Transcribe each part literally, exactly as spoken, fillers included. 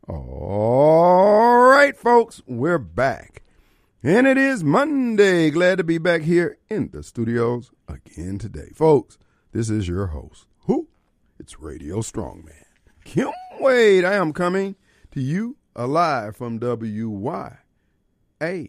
All right, folks, we're back. And it is Monday. Glad to be back here in the studios again today. Folks, this is your host. Who? It's Radio Strongman. Kim Wade. I am coming to you alive from W Y A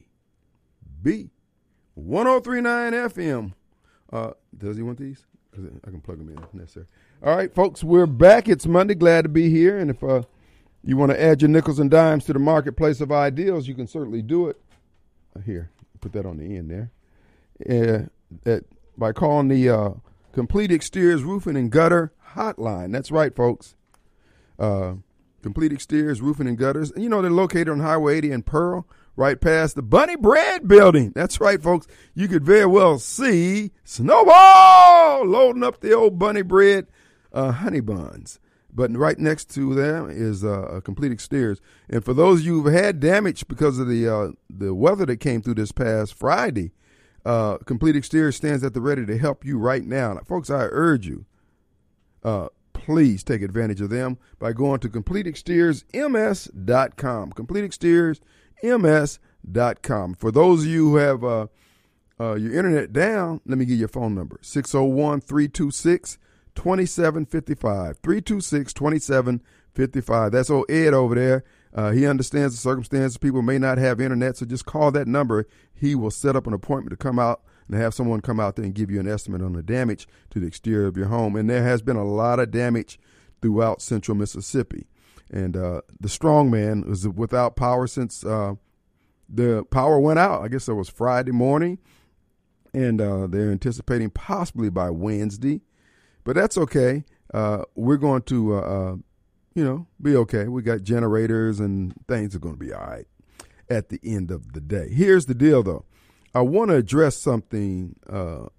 B one oh three point nine F M. Uh, does he want these? I can plug them in if necessary. All right, folks, we're back. It's Monday. Glad to be here. And if uh, you want to add your nickels and dimes to the marketplace of ideals, you can certainly do it. Here, put that on the end there. Uh, that by calling the uh, Complete Exteriors Roofing and Gutter Hotline. That's right, folks. Uh, Complete Exteriors Roofing and Gutters. You know, they're located on Highway eighty in Pearl, right past the Bunny Bread Building. That's right, folks. You could very well see Snowball loading up the old Bunny Bread uh, honey buns. But right next to them is uh, a Complete Exteriors. And for those of you who've had damage because of the uh, the weather that came through this past Friday, uh, Complete Exteriors stands at the ready to help you right now. Now, folks, I urge you, uh, please take advantage of them by going to complete exteriors m s dot com. complete exteriors m s dot com. For those of you who have uh, uh, your internet down, let me give you a phone number, six oh one, three two six, two seven five five, three two six, two seven five five. That's old Ed over there. Uh, he understands the circumstances. People may not have internet, so just call that number. He will set up an appointment to come out and have someone come out there and give you an estimate on the damage to the exterior of your home. And there has been a lot of damage throughout central Mississippi. And uh, the Strongman was without power since uh, the power went out. I guess it was Friday morning. And uh, they're anticipating possibly by Wednesday. But that's okay. Uh, we're going to, uh, uh, you know, be okay. We got generators and things are going to be all right at the end of the day. Here's the deal, though. I want to address something. Uh,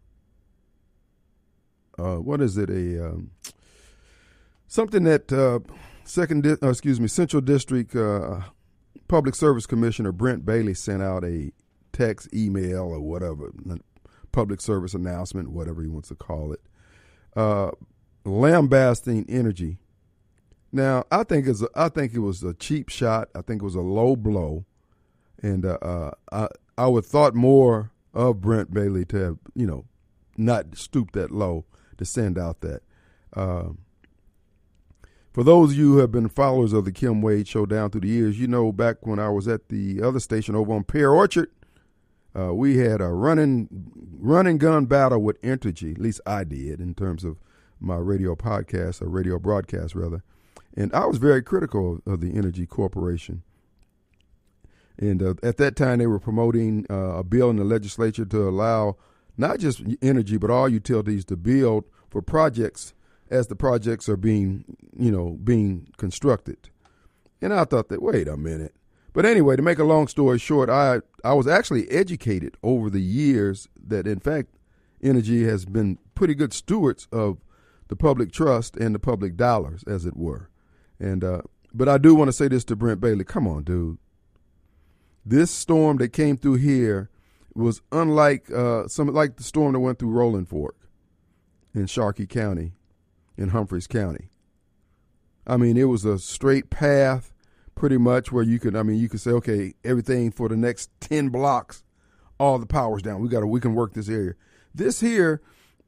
uh, what is it? A um, something that uh, second, di- uh, excuse me, Central District uh, Public Service Commissioner Brent Bailey sent out a text, email, or whatever, public service announcement, whatever he wants to call it. Uh, lambasting energy. Now, I think it's a, I think it was a cheap shot. I think it was a low blow, and uh, uh, I I would thought more of Brent Bailey to have, you know, not stoop that low to send out that. Uh, for those of you who have been followers of the Kim Wade Show down through the years, you know, back when I was at the other station over on Pear Orchard, Uh, we had a running run and gun battle with Entergy. At least I did in terms of my radio podcast, or radio broadcast rather. And I was very critical of the Entergy Corporation. And uh, at that time, they were promoting uh, a bill in the legislature to allow not just Entergy, but all utilities to build for projects as the projects are being, you know, being constructed. And I thought that, wait a minute. But anyway, to make a long story short, I, I was actually educated over the years that, in fact, Entergy has been pretty good stewards of the public trust and the public dollars, as it were. And uh, but I do want to say this to Brent Bailey. Come on, dude. This storm that came through here was unlike uh, some like the storm that went through Rolling Fork in Sharkey County, in Humphreys County. I mean, it was a straight path. Pretty much where you could, I mean, you could say, okay, everything for the next ten blocks, all the power's down. We got to, we can work this area. This here,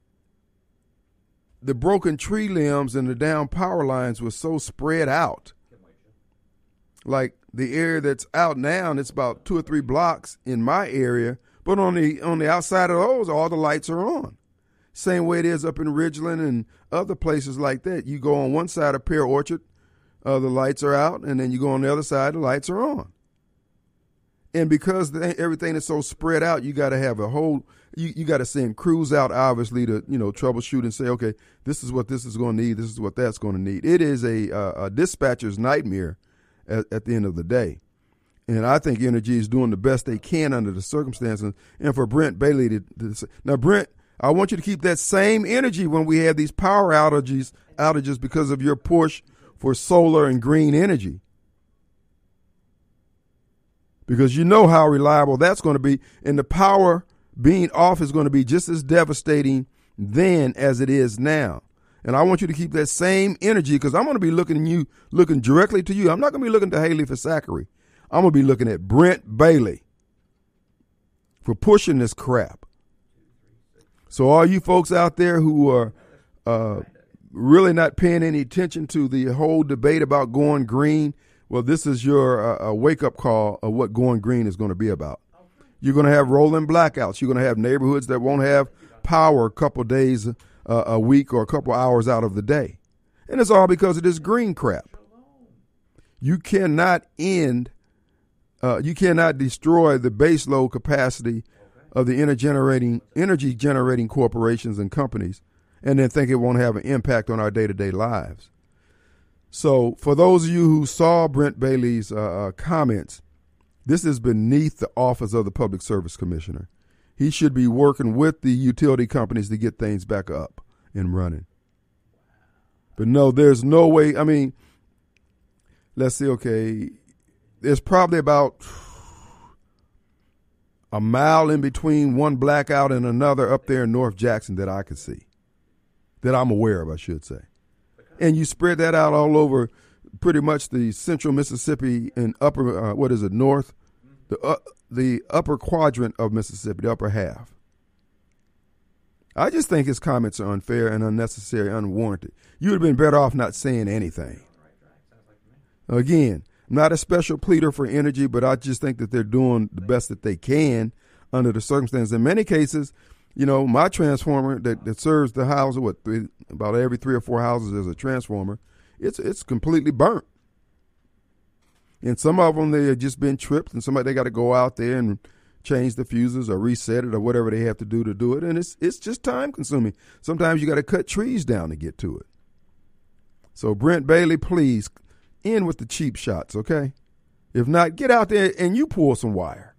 the broken tree limbs and the down power lines were so spread out. Like the area that's out now, and it's about two or three blocks in my area, but on the on the outside of those, all the lights are on. Same way it is up in Ridgeland and other places like that. You go on one side of Pear Orchard, Uh, the lights are out, and then you go on the other side, the lights are on. And because the, everything is so spread out, you got to have a whole, you, you got to send crews out, obviously, to, you know, troubleshoot and say, okay, this is what this is going to need, this is what that's going to need. It is a, uh, a dispatcher's nightmare at, at the end of the day. And I think Entergy is doing the best they can under the circumstances. And for Brent Bailey to, to now, Brent, I want you to keep that same energy when we have these power outages, outages because of your push for solar and green energy. Because you know how reliable that's going to be. And the power being off is going to be just as devastating then as it is now. And I want you to keep that same energy because I'm going to be looking at you, looking directly to you. I'm not going to be looking to Haley for Zachary. I'm going to be looking at Brent Bailey for pushing this crap. So all you folks out there who are uh, really not paying any attention to the whole debate about going green, well, this is your uh, wake-up call of what going green is going to be about. You're going to have rolling blackouts. You're going to have neighborhoods that won't have power a couple days uh, a week or a couple hours out of the day. And it's all because of this green crap. You cannot end, uh, you cannot destroy the base load capacity of the energy generating, energy generating corporations and companies and then think it won't have an impact on our day-to-day lives. So for those of you who saw Brent Bailey's uh, uh, comments, this is beneath the office of the Public Service Commissioner. He should be working with the utility companies to get things back up and running. But no, there's no way. I mean, let's see, okay, there's probably about a mile in between one blackout and another up there in North Jackson that I could see, that I'm aware of, I should say. And you spread that out all over pretty much the central Mississippi and upper, uh, what is it, north, the uh, the upper quadrant of Mississippi, the upper half. I just think his comments are unfair and unnecessary, unwarranted. You would have been better off not saying anything. Again, I'm not a special pleader for energy, but I just think that they're doing the best that they can under the circumstances. In many cases, you know, my transformer that, that serves the house, what, three, about every three or four houses is a transformer, it's it's completely burnt. And some of them, they have just been tripped, and somebody, they got to go out there and change the fuses or reset it or whatever they have to do to do it. And it's it's just time consuming. Sometimes you got to cut trees down to get to it. So Brent Bailey, please end with the cheap shots, okay? If not, get out there and you pull some wire.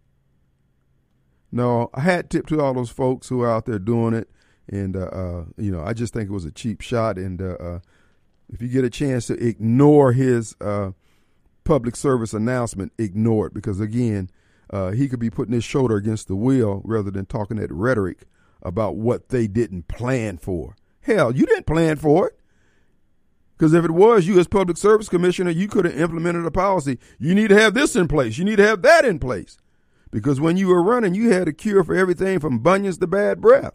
No, a hat tip to all those folks who are out there doing it. And, uh, uh, you know, I just think it was a cheap shot. And uh, uh, if you get a chance to ignore his uh, public service announcement, ignore it. Because, again, uh, he could be putting his shoulder against the wheel rather than talking that rhetoric about what they didn't plan for. Hell, you didn't plan for it. Because if it was you as public service commissioner, you could have implemented a policy. You need to have this in place. You need to have that in place. Because when you were running, you had a cure for everything from bunions to bad breath.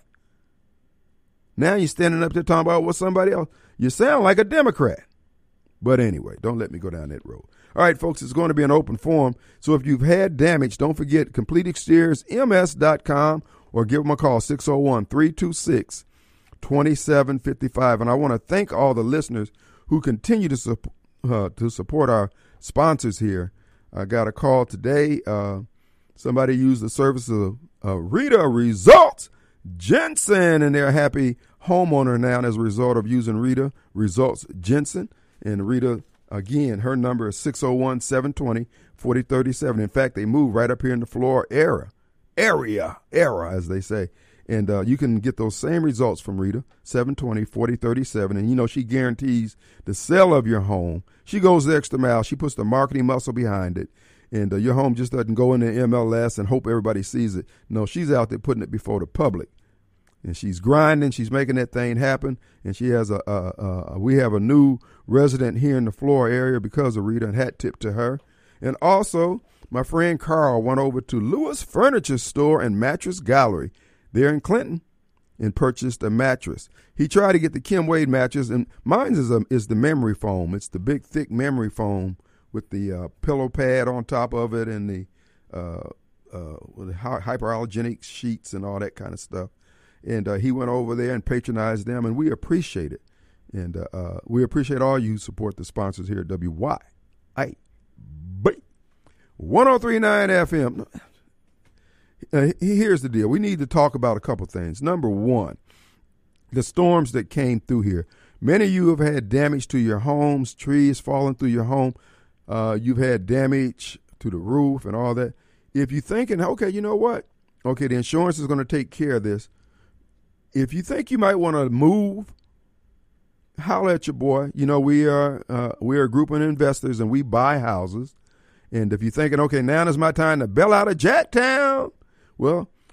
Now you're standing up there talking about what somebody else. You sound like a Democrat. But anyway, don't let me go down that road. All right, folks, it's going to be an open forum. So if you've had damage, don't forget complete exteriors m s dot com or give them a call, six oh one, three two six, two seven five five. And I want to thank all the listeners who continue to, su- uh, to support our sponsors here. I got a call today. Uh, somebody used the service of uh, Rita Results Jensen, and they're a happy homeowner now as a result of using Rita Results Jensen. And Rita, again, her number is six oh one, seven two zero, four oh three seven. In fact, they moved right up here in the Florida area, area, era, as they say. And uh, you can get those same results from Rita, seven two zero, four oh three seven. And, you know, she guarantees the sale of your home. She goes the extra mile. She puts the marketing muscle behind it. And uh, your home just doesn't go in the M L S and hope everybody sees it. No, she's out there putting it before the public. And she's grinding. She's making that thing happen. And she has a, a, a we have a new resident here in the Florida area because of Rita, and hat tip to her. And also, my friend Carl went over to Lewis Furniture Store and Mattress Gallery there in Clinton and purchased a mattress. He tried to get the Kim Wade mattress, and mine is, a, is the memory foam. It's the big, thick memory foam with the uh, pillow pad on top of it and the, uh, uh, the hyperallergenic sheets and all that kind of stuff. And uh, he went over there and patronized them, and we appreciate it. And uh, uh, we appreciate all you who support the sponsors here at W Y A B one oh three point nine F M. Uh, here's the deal. We need to talk about a couple things. Number one, the storms that came through here. Many of you have had damage to your homes, trees falling through your home. Uh, you've had damage to the roof and all that. If you're thinking, okay, you know what? Okay, the insurance is going to take care of this. If you think you might want to move, holler at your boy. You know, we are uh, we are a group of investors, and we buy houses. And if you're thinking, okay, now is my time to bail out of Jacktown, well,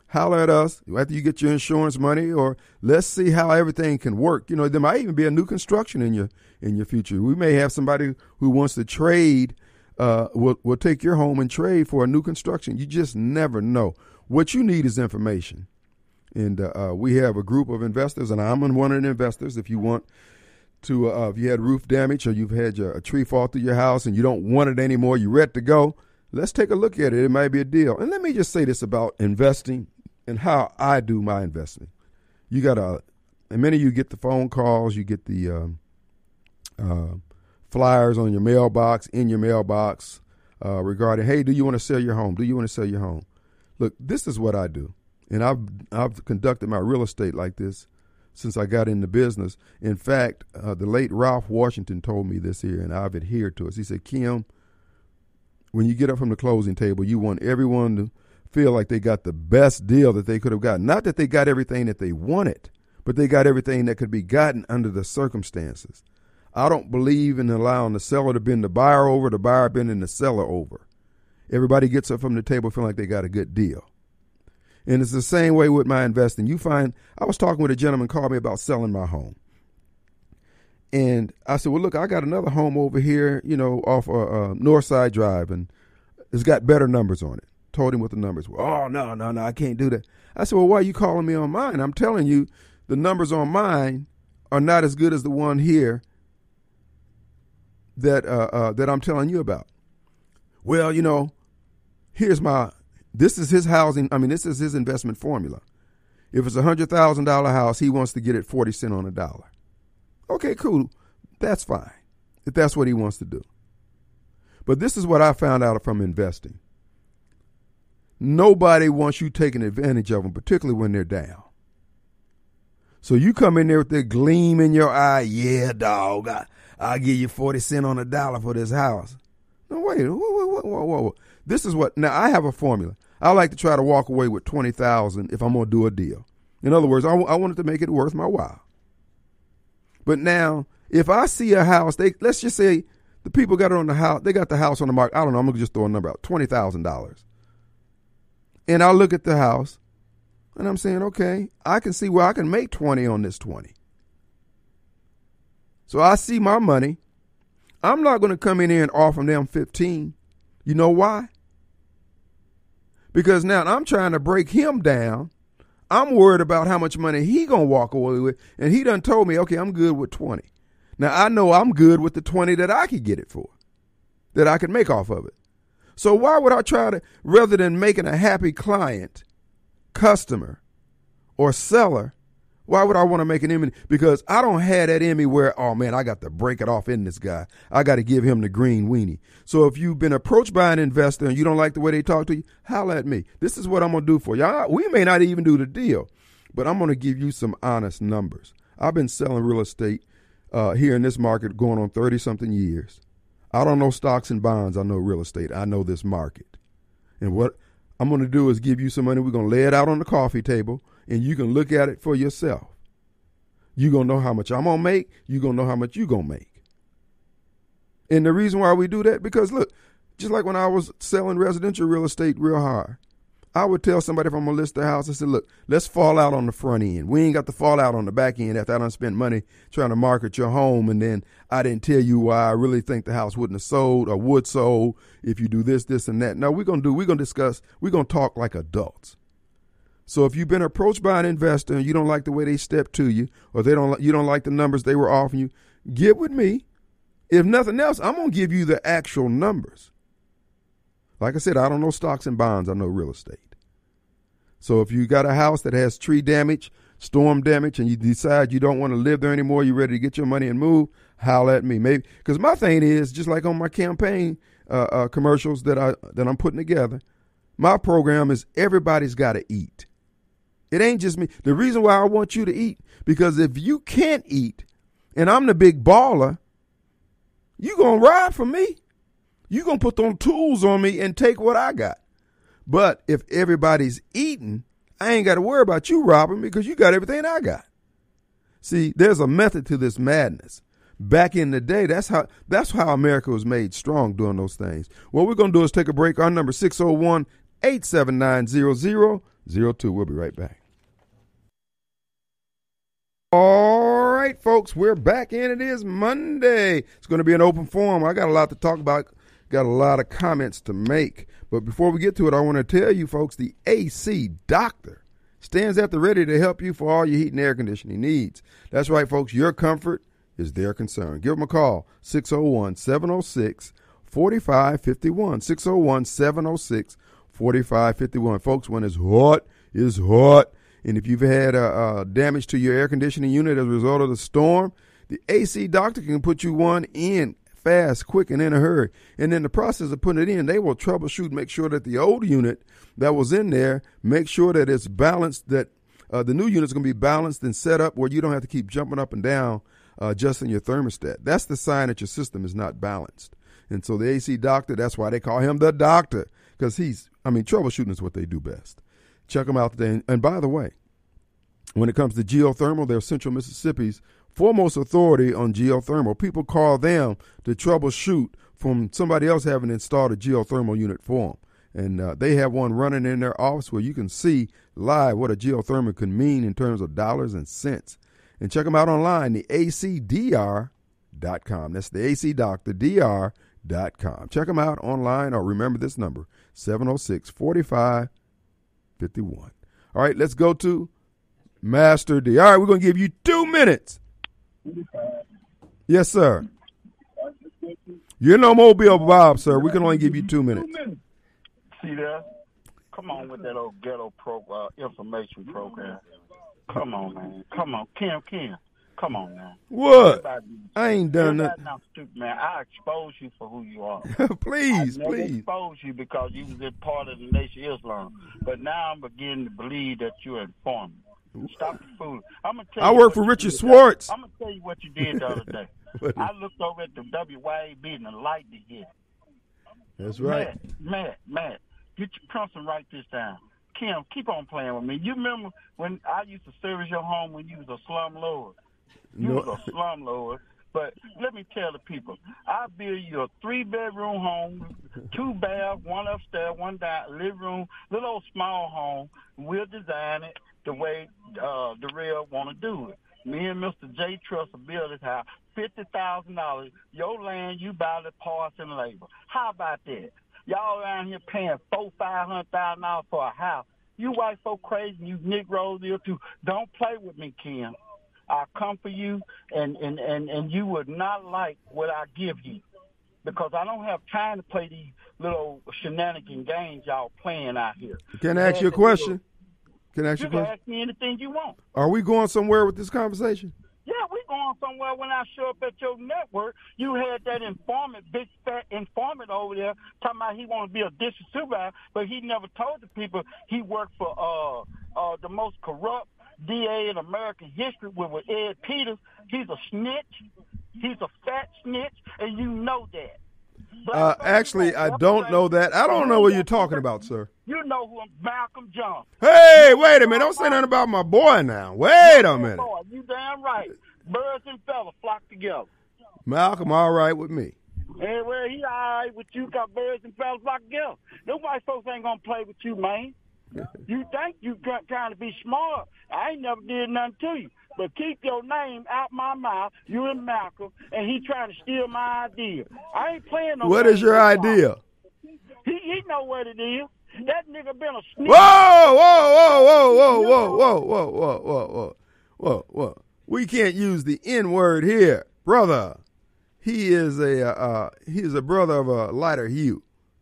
holler at us after you get your insurance money, or let's see how everything can work. You know, there might even be a new construction in your in your future. We may have somebody who wants to trade, uh, will will take your home and trade for a new construction. You just never know. What you need is information. And uh, we have a group of investors, and I'm one of the investors. If you want to, uh, if you had roof damage or you've had your, a tree fall through your house and you don't want it anymore, you're ready to go, let's take a look at it. It might be a deal. And let me just say this about investing and how I do my investing. You got to, and many of you get the phone calls, you get the um, uh, flyers on your mailbox, in your mailbox, uh, regarding, hey, do you want to sell your home? Do you want to sell your home? Look, this is what I do, and I've I've conducted my real estate like this since I got into business. In fact, uh, the late Ralph Washington told me this here, and I've adhered to it. He said, Kim, when you get up from the closing table, you want everyone to feel like they got the best deal that they could have gotten. Not that they got everything that they wanted, but they got everything that could be gotten under the circumstances. I don't believe in allowing the seller to bend the buyer over, the buyer bending the seller over. Everybody gets up from the table feeling like they got a good deal. And it's the same way with my investing. You find, I was talking with a gentleman called me about selling my home. And I said, well, look, I got another home over here, you know, off uh, uh, Northside Drive, and it's got better numbers on it. Told him what the numbers were. Oh, no, no, no, I can't do that. I said, well, why are you calling me on mine? I'm telling you, the numbers on mine are not as good as the one here that uh, uh, that I'm telling you about. Well, you know, here's my, this is his housing, I mean, this is his investment formula. If it's a one hundred thousand dollars house, he wants to get it forty cents on a dollar. Okay, cool. That's fine, if that's what he wants to do. But this is what I found out from investing. Nobody wants you taking advantage of them, particularly when they're down. So you come in there with that gleam in your eye, yeah, dog, I, I'll give you forty cents on a dollar for this house. No, wait, whoa, whoa, whoa, whoa, whoa. This is what, now I have a formula. I like to try to walk away with twenty thousand dollars if I'm going to do a deal. In other words, I, I wanted to make it worth my while. But now, if I see a house, they let's just say the people got it on the house, they got the house on the market. I don't know, I'm going to just throw a number out, twenty thousand dollars. And I look at the house, and I'm saying, okay, I can see where I can make twenty on this twenty. So I see my money. I'm not going to come in here and offer them fifteen. You know why? Because now I'm trying to break him down. I'm worried about how much money he going to walk away with. And he done told me, okay, I'm good with twenty. Now I know I'm good with the twenty that I could get it for, that I could make off of it. So why would I try to, rather than making a happy client, customer, or seller, why would I want to make an enemy? Because I don't have that in me where, oh man, I got to break it off in this guy. I got to give him the green weenie. So if you've been approached by an investor and you don't like the way they talk to you, holler at me. This is what I'm going to do for you. I, we may not even do the deal, but I'm going to give you some honest numbers. I've been selling real estate uh, here in this market going on thirty something years. I don't know stocks and bonds. I know real estate. I know this market. And what I'm going to do is give you some money. We're going to lay it out on the coffee table, and you can look at it for yourself. You're going to know how much I'm going to make. You're going to know how much you're going to make. And the reason why we do that, because look, just like when I was selling residential real estate real hard, I would tell somebody if I'm going to list their house, I said, look, let's fall out on the front end. We ain't got to fall out on the back end after I done spent money trying to market your home, and then I didn't tell you why I really think the house wouldn't have sold or would sold if you do this, this, and that. No, we're going to do, we're going to discuss, we're going to talk like adults. So if you've been approached by an investor and you don't like the way they step to you, or they don't, you don't like the numbers they were offering you, get with me. If nothing else, I'm going to give you the actual numbers. Like I said, I don't know stocks and bonds. I know real estate. So if you got a house that has tree damage, storm damage, and you decide you don't want to live there anymore, you're ready to get your money and move, holler at me. Maybe because my thing is, just like on my campaign uh, uh, commercials that I that I'm putting together, my program is everybody's got to eat. It ain't just me. The reason why I want you to eat, because if you can't eat and I'm the big baller, you going to ride for me. You going to put them tools on me and take what I got. But if everybody's eating, I ain't got to worry about you robbing me because you got everything I got. See, there's a method to this madness. Back in the day, that's how that's how America was made strong doing those things. What we're going to do is take a break. Our number six oh one, eight seven nine, zero zero zero two. We'll be right back. All right, folks, we're back, and it is Monday. It's going to be an open forum. I got a lot to talk about, got a lot of comments to make. But before we get to it, I want to tell you, folks, the A C Doctor stands at the ready to help you for all your heat and air conditioning needs. That's right, folks. Your comfort is their concern. Give them a call, six oh one, seven oh six, four five five one, six oh one, seven oh six, four five five one. Folks, when it's hot, it's hot. And if you've had uh, uh, damage to your air conditioning unit as a result of the storm, the A C Doctor can put you one in fast, quick, and in a hurry. And in the process of putting it in, they will troubleshoot, make sure that the old unit that was in there, make sure that it's balanced, that uh, the new unit's going to be balanced and set up where you don't have to keep jumping up and down uh, adjusting your thermostat. That's the sign that your system is not balanced. And so the A C Doctor, that's why they call him the doctor, because he's, I mean, troubleshooting is what they do best. Check them out today. And by the way, when it comes to geothermal, they're Central Mississippi's foremost authority on geothermal. People call them to troubleshoot from somebody else having installed a geothermal unit for them. And uh, they have one running in their office where you can see live what a geothermal can mean in terms of dollars and cents. And check them out online, the A C D R dot com. That's the A C Doctor, D R dot com. Check them out online, or remember this number, seven oh six, four five five one. All right, let's go to Master D. All right, we're going to give you two minutes. Yes, sir. You're no Mobile Bob, sir. We can only give you two minutes. See there? Come on with that old ghetto pro, uh, information program. Come on, man. Come on. Kim, Kim. Come on, man. What? I ain't done that. Not stupid, man. I expose you for who you are. please, I never please. expose you because you was a part of the Nation of Islam. But now I'm beginning to believe that you're informing. Stop the fool. I'm gonna tell I you work for Richard Swartz. I'm gonna tell you what you did the other day. I looked over at the W Y A B and the light to hit. That's right. Matt, Matt, Matt, get your pencil and write this down. Kim, keep on playing with me. You remember when I used to service your home when you was a slum lord? You No. was a slum lord. But let me tell the people, I build you a three-bedroom home, two baths, one upstairs, one down, living room, little old small home. We'll design it the way uh, the real want to do it. Me and Mister J. Trust will build this house, fifty thousand dollars. Your land, you buy the parts and labor. How about that? Y'all around here paying four, five hundred thousand dollars for a house. You white folk crazy, you Negroes here too. Don't play with me, Kim. I'll come for you, and, and, and, and you would not like what I give you, because I don't have time to play these little shenanigan games y'all playing out here. Can I ask you a question? Can I ask you a You can question? ask me anything you want. Are we going somewhere with this conversation? Yeah, we going somewhere. When I show up at your network, you had that informant, big fat informant over there talking about he want to be a district supervisor, but he never told the people he worked for uh, uh, the most corrupt D A in American history with, with Ed Peters. He's a snitch. He's a fat snitch, and you know that. Uh, actually, I don't know that. I don't know what you're talking about, sir. You know who I'm, Malcolm Johnson. Hey, wait a minute. Don't say nothing about my boy now. Wait a minute. Boy, you damn right. Birds and feathers flock together. Malcolm, all right with me. Hey, well, he all right with you, got birds and feathers flock together. Them white folks ain't going to play with you, man. You think you trying to be smart. I ain't never did nothing to you. But keep your name out my mouth, you and Malcolm, and he trying to steal my idea. I ain't playing no. What is your idea? He he know what it is. That nigga been a snitch. Whoa, whoa, whoa, whoa, whoa, whoa, whoa, whoa, whoa, whoa, whoa, whoa, whoa. We can't use the N word here, brother. He is a uh, he is a brother of a lighter hue.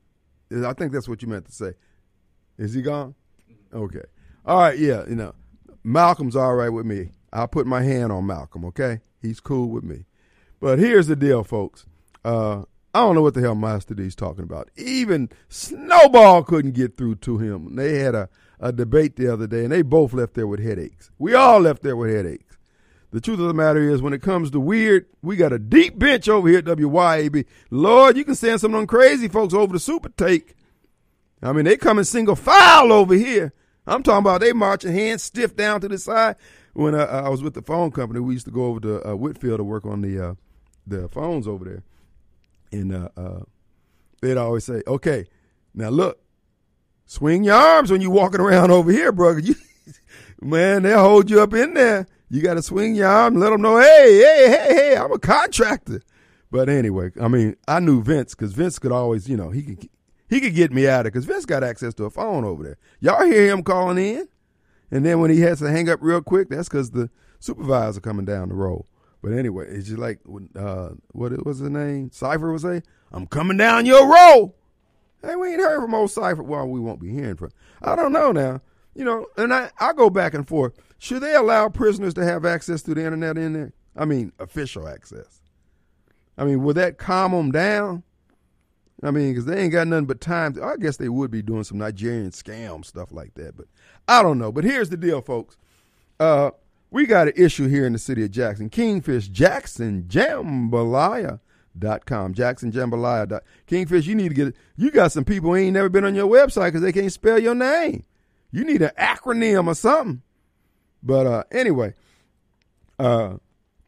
I think that's what you meant to say. Is he gone? Okay. All right, yeah, you know, Malcolm's all right with me. I'll put my hand on Malcolm, okay? He's cool with me. But here's the deal, folks. Uh, I don't know what the hell Master D's talking about. Even Snowball couldn't get through to him. They had a, a debate the other day, and they both left there with headaches. We all left there with headaches. The truth of the matter is, when it comes to weird, we got a deep bench over here at W Y A B. Lord, you can send some of them crazy folks over to Super Take. I mean, they come in single file over here. I'm talking about they marching hands stiff down to the side. When uh, I was with the phone company, we used to go over to uh, Whitfield to work on the uh, the phones over there. And uh, uh, they'd always say, okay, now look, swing your arms when you walking around over here, bro. You, man, they'll hold you up in there. You got to swing your arm and let them know, hey, hey, hey, hey, I'm a contractor. But anyway, I mean, I knew Vince because Vince could always, you know, he could he could get me out of it because Vince got access to a phone over there. Y'all hear him calling in? And then when he has to hang up real quick, that's because the supervisor coming down the road. But anyway, it's just like, uh, what was his name? Cypher would say, I'm coming down your road. Hey, we ain't heard from old Cypher. Well, we won't be hearing from. I don't know now. You know, and I, I go back and forth. Should they allow prisoners to have access to the internet in there? I mean, official access. I mean, would that calm them down? I mean, because they ain't got nothing but time. To, I guess they would be doing some Nigerian scam stuff like that. But I don't know. But here's the deal, folks. Uh, we got an issue here in the city of Jackson. Kingfish, Jackson Jambalaya dot com. Jackson Jambalaya. Dot, Kingfish, you need to get, you got some people who ain't never been on your website because they can't spell your name. You need an acronym or something. But uh, anyway, uh,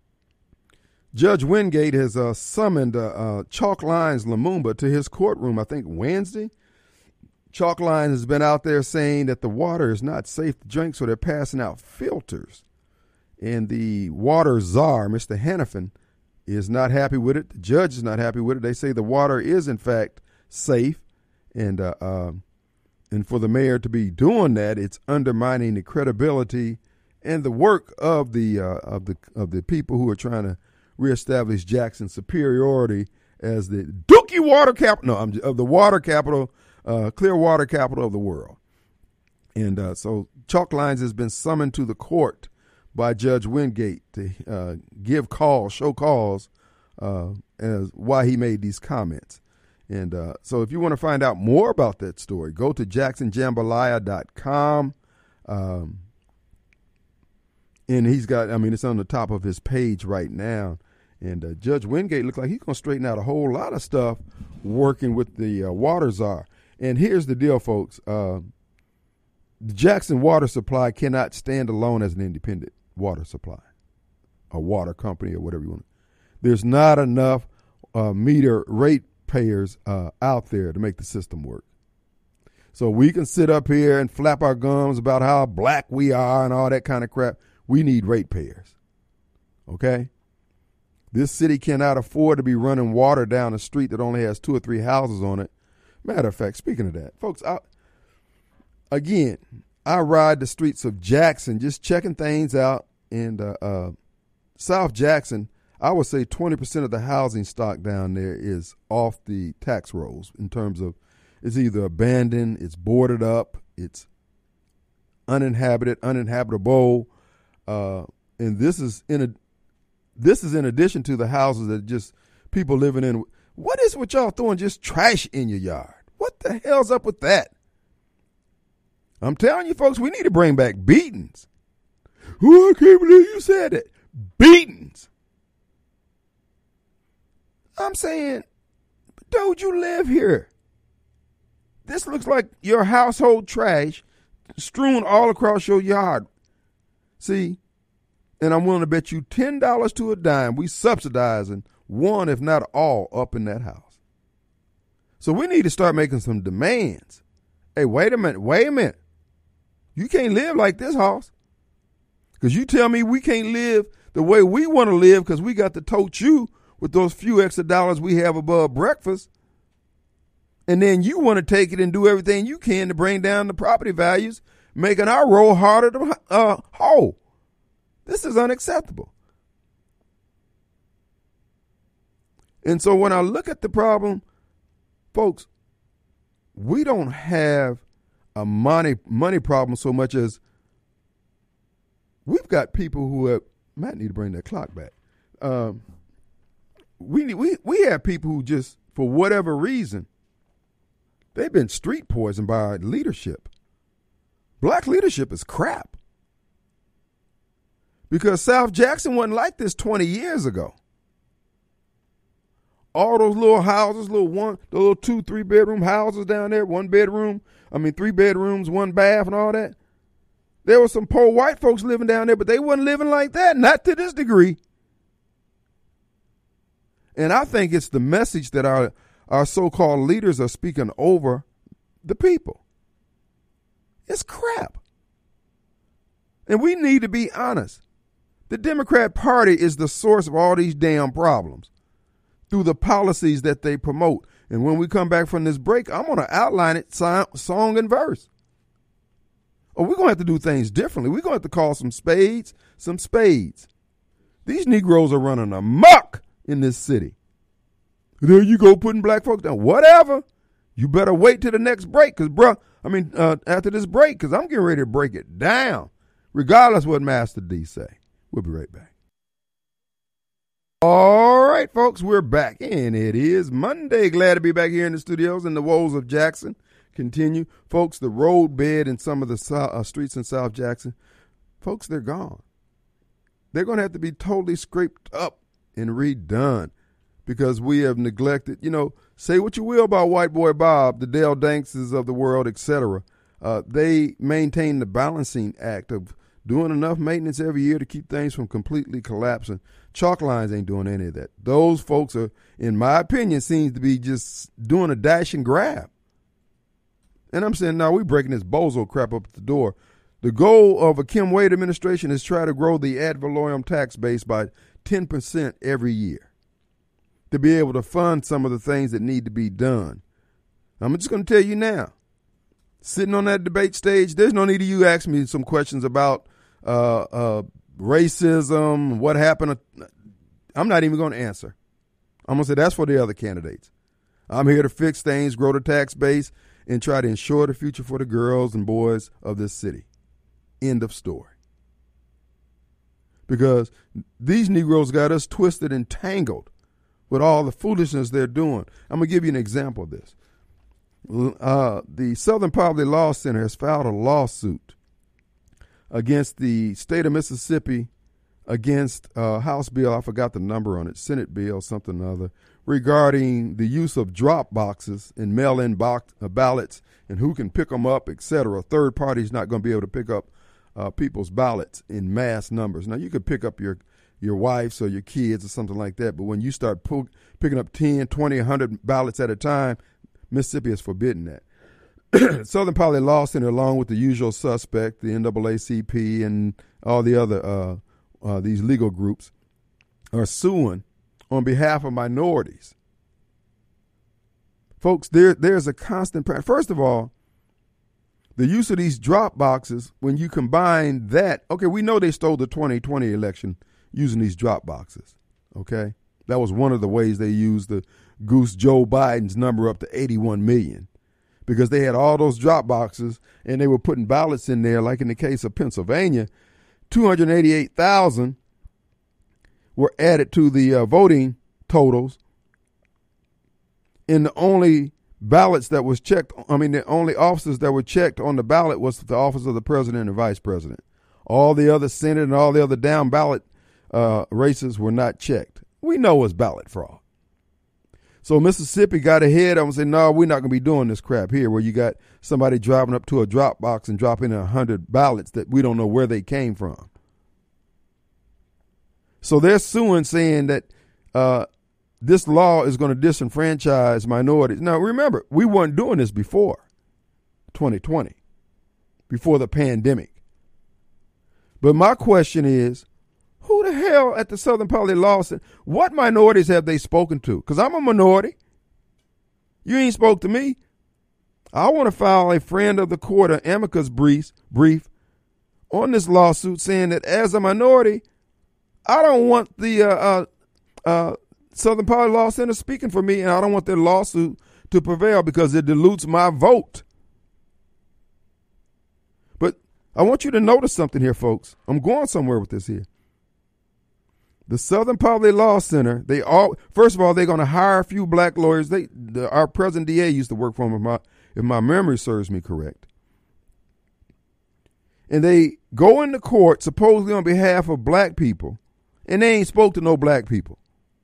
Judge Wingate has uh, summoned uh, uh, Chalk Lines Lumumba to his courtroom, I think Wednesday. Chalk Lines has been out there saying that the water is not safe to drink, so they're passing out filters. And the water czar, Mister Hannafin, is not happy with it. The judge is not happy with it. They say the water is, in fact, safe. And uh, uh, and for the mayor to be doing that, it's undermining the credibility and the work of the uh, of the of the people who are trying to reestablish Jackson's superiority as the Dookie water capital, no, I'm, of the water capital, uh, clear water capital of the world. And uh, so Chalk Lines has been summoned to the court by Judge Wingate to uh, give calls, show cause uh, as why he made these comments. And uh, so if you want to find out more about that story, go to Jackson Jambalaya dot com. Um, and he's got, I mean, it's on the top of his page right now. And uh, Judge Wingate looks like he's going to straighten out a whole lot of stuff working with the uh, water czar. And here's the deal, folks. Uh, the Jackson water supply cannot stand alone as an independent water supply, a water company or whatever you want. There's not enough uh, meter rate payers uh, out there to make the system work. So we can sit up here and flap our gums about how black we are and all that kind of crap. We need rate payers. Okay? This city cannot afford to be running water down a street that only has two or three houses on it. Matter of fact, speaking of that, folks, I, again, I ride the streets of Jackson just checking things out. And uh, uh, South Jackson, I would say twenty percent of the housing stock down there is off the tax rolls in terms of it's either abandoned, it's boarded up, it's uninhabited, uninhabitable. Uh, and this is in a this is in addition to the houses that just people living in. What is with y'all throwing just trash in your yard? What the hell's up with that? I'm telling you, folks, we need to bring back beatings. Oh, I can't believe you said that. Beatings. I'm saying, dude, you live here. This looks like your household trash strewn all across your yard. See, and I'm willing to bet you ten dollars to a dime we subsidizing one, if not all, up in that house. So we need to start making some demands. Hey, wait a minute, wait a minute. You can't live like this house. Because you tell me we can't live the way we want to live because we got to tote you with those few extra dollars we have above breakfast. And then you want to take it and do everything you can to bring down the property values, making our roll harder to uh, haul. This is unacceptable. And so when I look at the problem, folks, we don't have a money money problem so much as we've got people who have, might need to bring that clock back. Um, we need, we we have people who just, for whatever reason, they've been street poisoned by our leadership. Black leadership is crap. Because South Jackson wasn't like this twenty years ago. All those little houses, little one, the little two, three bedroom houses down there, one bedroom, I mean three bedrooms, one bath and all that. There were some poor white folks living down there, but they wasn't living like that, not to this degree. And I think it's the message that our, our so-called leaders are speaking over the people. It's crap. And we need to be honest. The Democrat Party is the source of all these damn problems through the policies that they promote. And when we come back from this break, I'm going to outline it song and verse. Or we're going to have to do things differently. We're going to have to call some spades, some spades. These Negroes are running amok in this city. There you go, putting black folks down. Whatever. You better wait till the next break, because, bruh, I mean, uh, after this break, because I'm getting ready to break it down, regardless what Master D say. We'll be right back. All right, folks, we're back, and it is Monday. Glad to be back here in the studios, and the woes of Jackson continue. Folks, the roadbed in some of the so- uh, streets in South Jackson, folks, they're gone. They're going to have to be totally scraped up and redone because we have neglected, you know, say what you will about White Boy Bob, the Dale Dankses of the world, et cetera. Uh, they maintain the balancing act of doing enough maintenance every year to keep things from completely collapsing. Chalk lines ain't doing any of that. Those folks are, in my opinion, seems to be just doing a dash and grab. And I'm saying, now we breaking this bozo crap up at the door. The goal of a Kim Wade administration is try to grow the ad valorem tax base by ten percent every year to be able to fund some of the things that need to be done. I'm just going to tell you now, sitting on that debate stage, there's no need of you asking me some questions about uh, uh, racism, what happened. I'm not even going to answer. I'm going to say that's for the other candidates. I'm here to fix things, grow the tax base, and try to ensure the future for the girls and boys of this city. End of story. Because these Negroes got us twisted and tangled with all the foolishness they're doing. I'm going to give you an example of this. Uh, the Southern Poverty Law Center has filed a lawsuit against the state of Mississippi against uh, House bill, I forgot the number on it, Senate bill, something or other, regarding the use of drop boxes and mail-in box, uh, ballots and who can pick them up, et cetera. A third party is not going to be able to pick up uh, people's ballots in mass numbers. Now, you could pick up your your wife's or your kids or something like that, but when you start pull, picking up ten, twenty, one hundred ballots at a time, Mississippi has forbidden that. Southern Poverty Law Center, along with the usual suspect, the N double A C P and all the other uh, uh, these legal groups, are suing on behalf of minorities. Folks, there there's a constant pattern. First of all, the use of these drop boxes, when you combine that, okay, we know they stole the twenty twenty election using these drop boxes, okay? That was one of the ways they used to goose Joe Biden's number up to eighty-one million, because they had all those drop boxes and they were putting ballots in there, like in the case of Pennsylvania, two hundred eighty-eight thousand were added to the uh, voting totals, and the only ballots that was checked, I mean, the only officers that were checked on the ballot was the office of the president and vice president. All the other Senate and all the other down ballot uh, races were not checked. We know it's ballot fraud. So Mississippi got ahead and said, no, we're not going to be doing this crap here, where you got somebody driving up to a drop box and dropping in one hundred ballots that we don't know where they came from. So they're suing, saying that uh, this law is going to disenfranchise minorities. Now, remember, we weren't doing this before twenty twenty, before the pandemic. But my question is, who the hell at the Southern Poverty Law Center, what minorities have they spoken to? Because I'm a minority. You ain't spoke to me. I want to file a friend of the court, an amicus brief, brief on this lawsuit, saying that as a minority, I don't want the uh, uh, uh, Southern Poverty Law Center speaking for me, and I don't want their lawsuit to prevail because it dilutes my vote. But I want you to notice something here, folks. I'm going somewhere with this here. The Southern Poverty Law Center, they all, first of all, they're going to hire a few black lawyers. They, the, our present D A used to work for them, if my, if my memory serves me correct. And they go into court supposedly on behalf of black people, and they ain't spoke to no black people.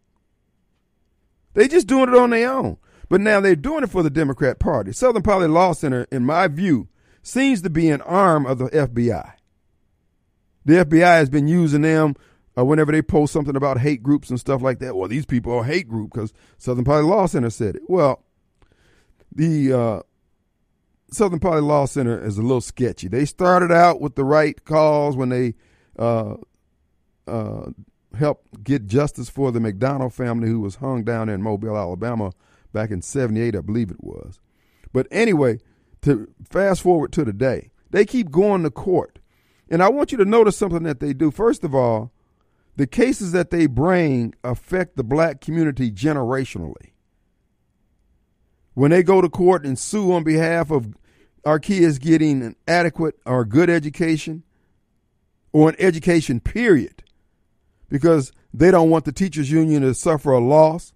They just doing it on their own. But now they're doing it for the Democrat Party. Southern Poverty Law Center, in my view, seems to be an arm of the F B I. The F B I has been using them Uh, whenever they post something about hate groups and stuff like that. Well, these people are a hate group because Southern Poverty Law Center said it. Well, the uh, Southern Poly Law Center is a little sketchy. They started out with the right cause when they uh, uh, helped get justice for the McDonald family who was hung down in Mobile, Alabama back in seventy-eight, I believe it was. But anyway, to fast forward to today, they keep going to court. And I want you to notice something that they do. First of all, the cases that they bring affect the black community generationally. When they go to court and sue on behalf of our kids getting an adequate or good education or an education period because they don't want the teachers union to suffer a loss,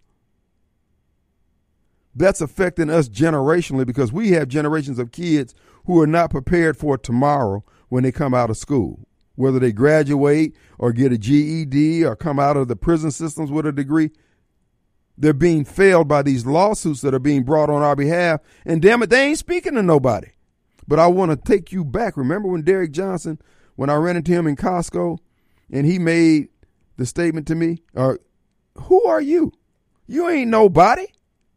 that's affecting us generationally because we have generations of kids who are not prepared for tomorrow when they come out of school, whether they graduate or get a G E D or come out of the prison systems with a degree. They're being failed by these lawsuits that are being brought on our behalf. And damn it, they ain't speaking to nobody. But I want to take you back. Remember when Derek Johnson, when I ran into him in Costco and he made the statement to me, or who are you? You ain't nobody.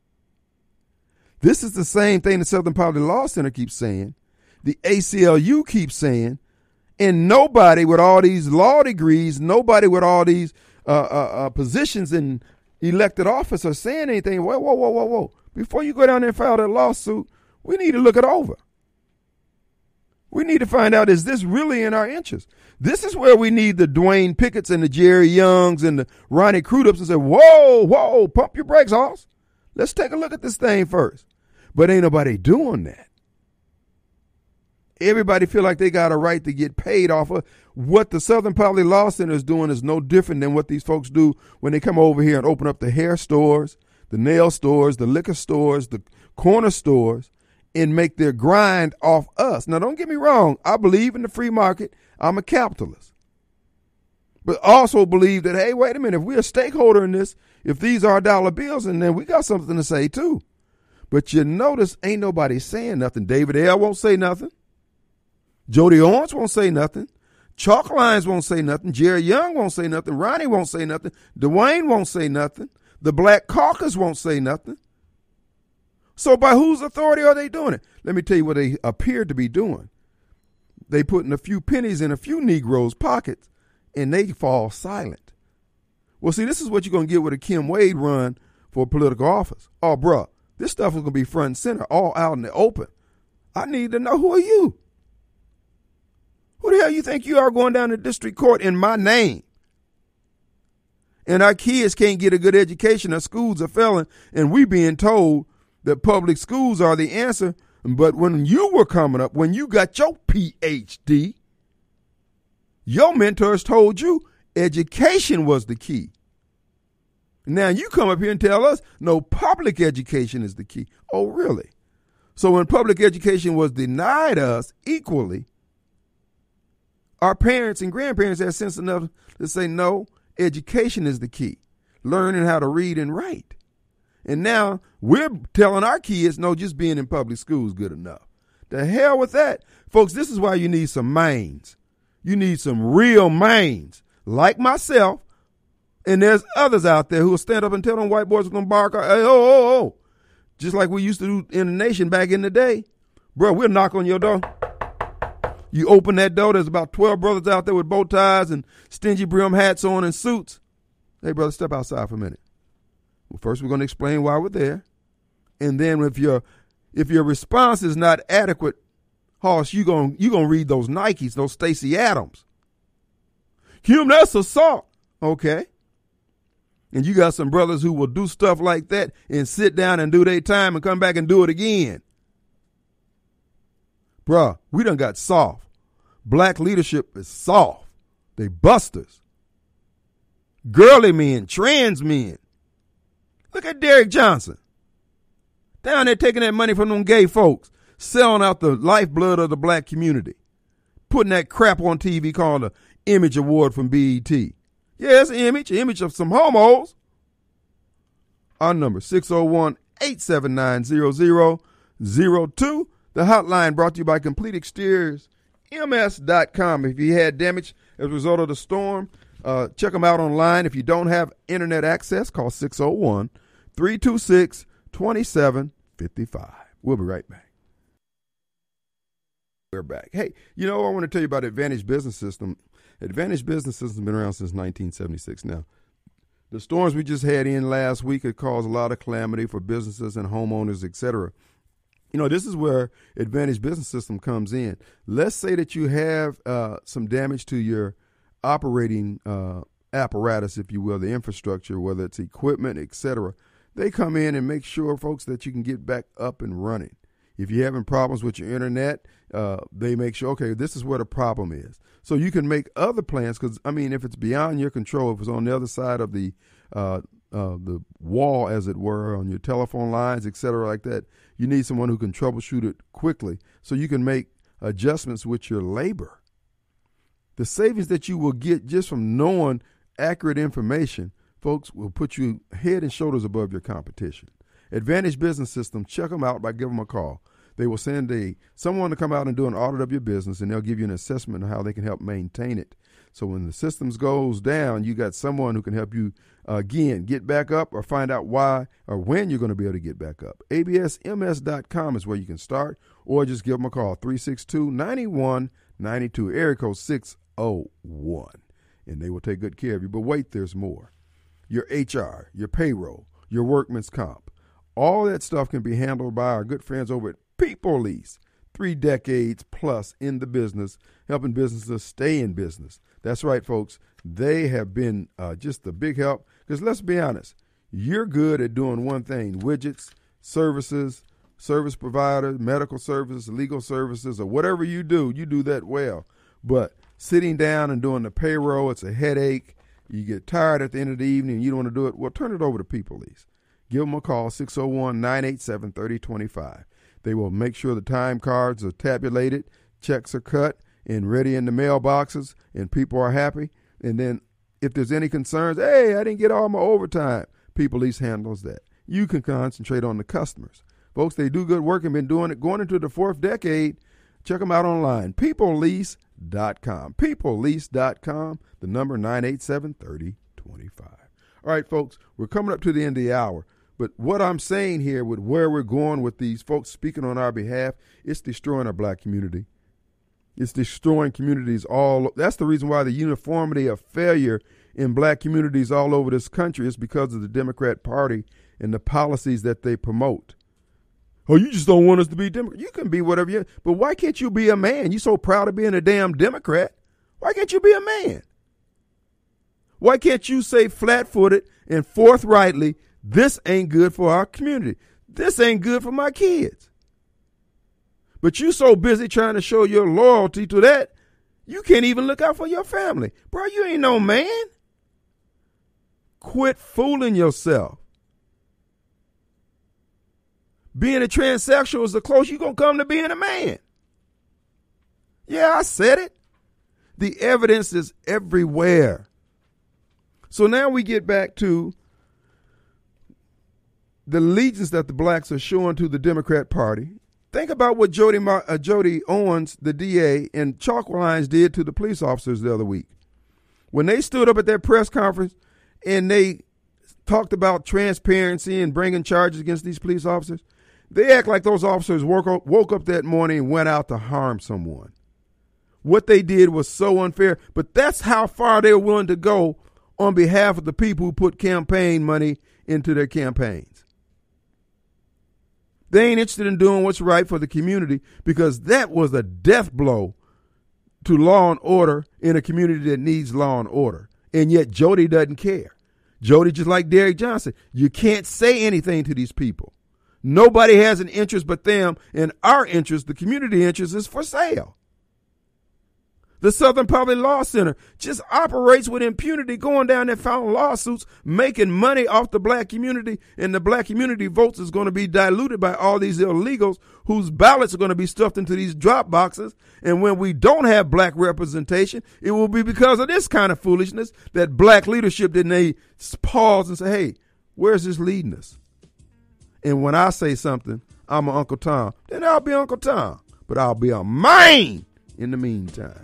This is the same thing the Southern Poverty Law Center keeps saying. The A C L U keeps saying. And nobody with all these law degrees, nobody with all these uh, uh, uh, positions in elected office are saying anything. Whoa, whoa, whoa, whoa, whoa. Before you go down there and file that lawsuit, we need to look it over. We need to find out, is this really in our interest? This is where we need the Dwayne Picketts and the Jerry Youngs and the Ronnie Crudups and say, whoa, whoa, pump your brakes, Hoss. Let's take a look at this thing first. But ain't nobody doing that. Everybody feel like they got a right to get paid off of what the Southern Poverty Law Center is doing is no different than what these folks do when they come over here and open up the hair stores, the nail stores, the liquor stores, the corner stores, and make their grind off us. Now, don't get me wrong. I believe in the free market. I'm a capitalist. But also believe that, hey, wait a minute, if we're a stakeholder in this, if these are dollar bills, and then we got something to say too. But you notice ain't nobody saying nothing. David L. won't say nothing. Jody Owens won't say nothing. Chalk Lines won't say nothing. Jerry Young won't say nothing. Ronnie won't say nothing. Dwayne won't say nothing. The Black Caucus won't say nothing. So by whose authority are they doing it? Let me tell you what they appear to be doing. They putting a few pennies in a few Negroes' pockets, and they fall silent. Well, see, this is what you're going to get with a Kim Wade run for political office. Oh, bruh, this stuff is going to be front and center, all out in the open. I need to know, who are you? Who the hell you think you are going down to district court in my name? And our kids can't get a good education. Our schools are failing, and we being told that public schools are the answer. But when you were coming up, when you got your P H D, your mentors told you education was the key. Now you come up here and tell us, no, public education is the key. Oh, really? So when public education was denied us equally, our parents and grandparents had sense enough to say, no, education is the key. Learning how to read and write. And now we're telling our kids, no, just being in public school is good enough. The hell with that. Folks, this is why you need some minds. You need some real minds like myself. And there's others out there who will stand up and tell them white boys are going to bark. Hey, oh, oh, oh. Just like we used to do in the nation back in the day. Bro, we'll knock on your door. You open that door, there's about twelve brothers out there with bow ties and stingy brim hats on and suits. Hey, brother, step outside for a minute. Well, first, we're going to explain why we're there. And then if your if your response is not adequate, Hoss, you're going you gonna read those Nikes, those Stacey Adams. Kim, that's assault. Okay. And you got some brothers who will do stuff like that and sit down and do their time and come back and do it again. Bruh, we done got soft. Black leadership is soft. They busters. Girly men, trans men. Look at Derek Johnson. Down there taking that money from them gay folks, selling out the lifeblood of the black community, putting that crap on T V called the Image Award from B E T. Yeah, it's an image, an image of some homos. Our number, six oh one, eight seven nine, zero zero zero two. The hotline brought to you by Complete Exteriors, M S dot com. If you had damage as a result of the storm, uh, check them out online. If you don't have internet access, call six oh one, three two six, two seven five five. We'll be right back. We're back. Hey, you know, I want to tell you about Advantage Business System. Advantage Business System has been around since nineteen seventy-six now. The storms we just had in last week had caused a lot of calamity for businesses and homeowners, et cetera. You know, this is where Advantage Business System comes in. Let's say that you have uh, some damage to your operating uh, apparatus, if you will, the infrastructure, whether it's equipment, et cetera. They come in and make sure, folks, that you can get back up and running. If you're having problems with your internet, uh, they make sure, okay, this is where the problem is. So you can make other plans because, I mean, if it's beyond your control, if it's on the other side of the uh, uh, the wall, as it were, on your telephone lines, et cetera, like that, you need someone who can troubleshoot it quickly so you can make adjustments with your labor. The savings that you will get just from knowing accurate information, folks, will put you head and shoulders above your competition. Advantage Business System, check them out by giving them a call. They will send a someone to come out and do an audit of your business, and they'll give you an assessment of how they can help maintain it. So when the systems goes down, you got someone who can help you, uh, again, get back up or find out why or when you're going to be able to get back up. A B S M S dot com is where you can start, or just give them a call, three six two, nine one nine two, area code six oh one, and they will take good care of you. But wait, there's more. Your H R, your payroll, your workman's comp, all that stuff can be handled by our good friends over at People Lease. Three decades plus in the business, helping businesses stay in business. That's right, folks. They have been uh, just a big help because let's be honest, you're good at doing one thing, widgets, services, service providers, medical services, legal services, or whatever you do, you do that well. But sitting down and doing the payroll, it's a headache. You get tired at the end of the evening and you don't want to do it. Well, turn it over to People Lease. Give them a call, six oh one, nine eight seven, three oh two five. They will make sure the time cards are tabulated, checks are cut, and ready in the mailboxes, and people are happy. And then if there's any concerns, hey, I didn't get all my overtime, People Lease handles that. You can concentrate on the customers. Folks, they do good work and been doing it going into the fourth decade. Check them out online, people lease dot com. people lease dot com, the number nine eight seven, three oh two five. All right, folks, we're coming up to the end of the hour. But what I'm saying here with where we're going with these folks speaking on our behalf, it's destroying our black community. It's destroying communities all. That's the reason why the uniformity of failure in black communities all over this country is because of the Democrat Party and the policies that they promote. Oh, you just don't want us to be Democrat. You can be whatever you, but why can't you be a man? You're so proud of being a damn Democrat. Why can't you be a man? Why can't you say flat-footed and forthrightly, this ain't good for our community. This ain't good for my kids. But you so busy trying to show your loyalty to that, you can't even look out for your family. Bro, you ain't no man. Quit fooling yourself. Being a transsexual is the closest you're going to come to being a man. Yeah, I said it. The evidence is everywhere. So now we get back to the allegiance that the blacks are showing to the Democrat Party. Think about what Jody, uh, Jody Owens, the D A, and Chalk Lines did to the police officers the other week. When they stood up at that press conference and they talked about transparency and bringing charges against these police officers, they act like those officers woke up, woke up that morning and went out to harm someone. What they did was so unfair, but that's how far they're willing to go on behalf of the people who put campaign money into their campaigns. They ain't interested in doing what's right for the community because that was a death blow to law and order in a community that needs law and order. And yet Jody doesn't care. Jody, just like Derrick Johnson, you can't say anything to these people. Nobody has an interest but them, and our interest, the community interest, is for sale. The Southern Public Law Center just operates with impunity, going down there filing lawsuits, making money off the black community, and the black community votes is going to be diluted by all these illegals whose ballots are going to be stuffed into these drop boxes. And when we don't have black representation, it will be because of this kind of foolishness that black leadership didn't they pause and say, hey, where's this leading us? And when I say something, I'm an Uncle Tom, then I'll be Uncle Tom, but I'll be a man in the meantime.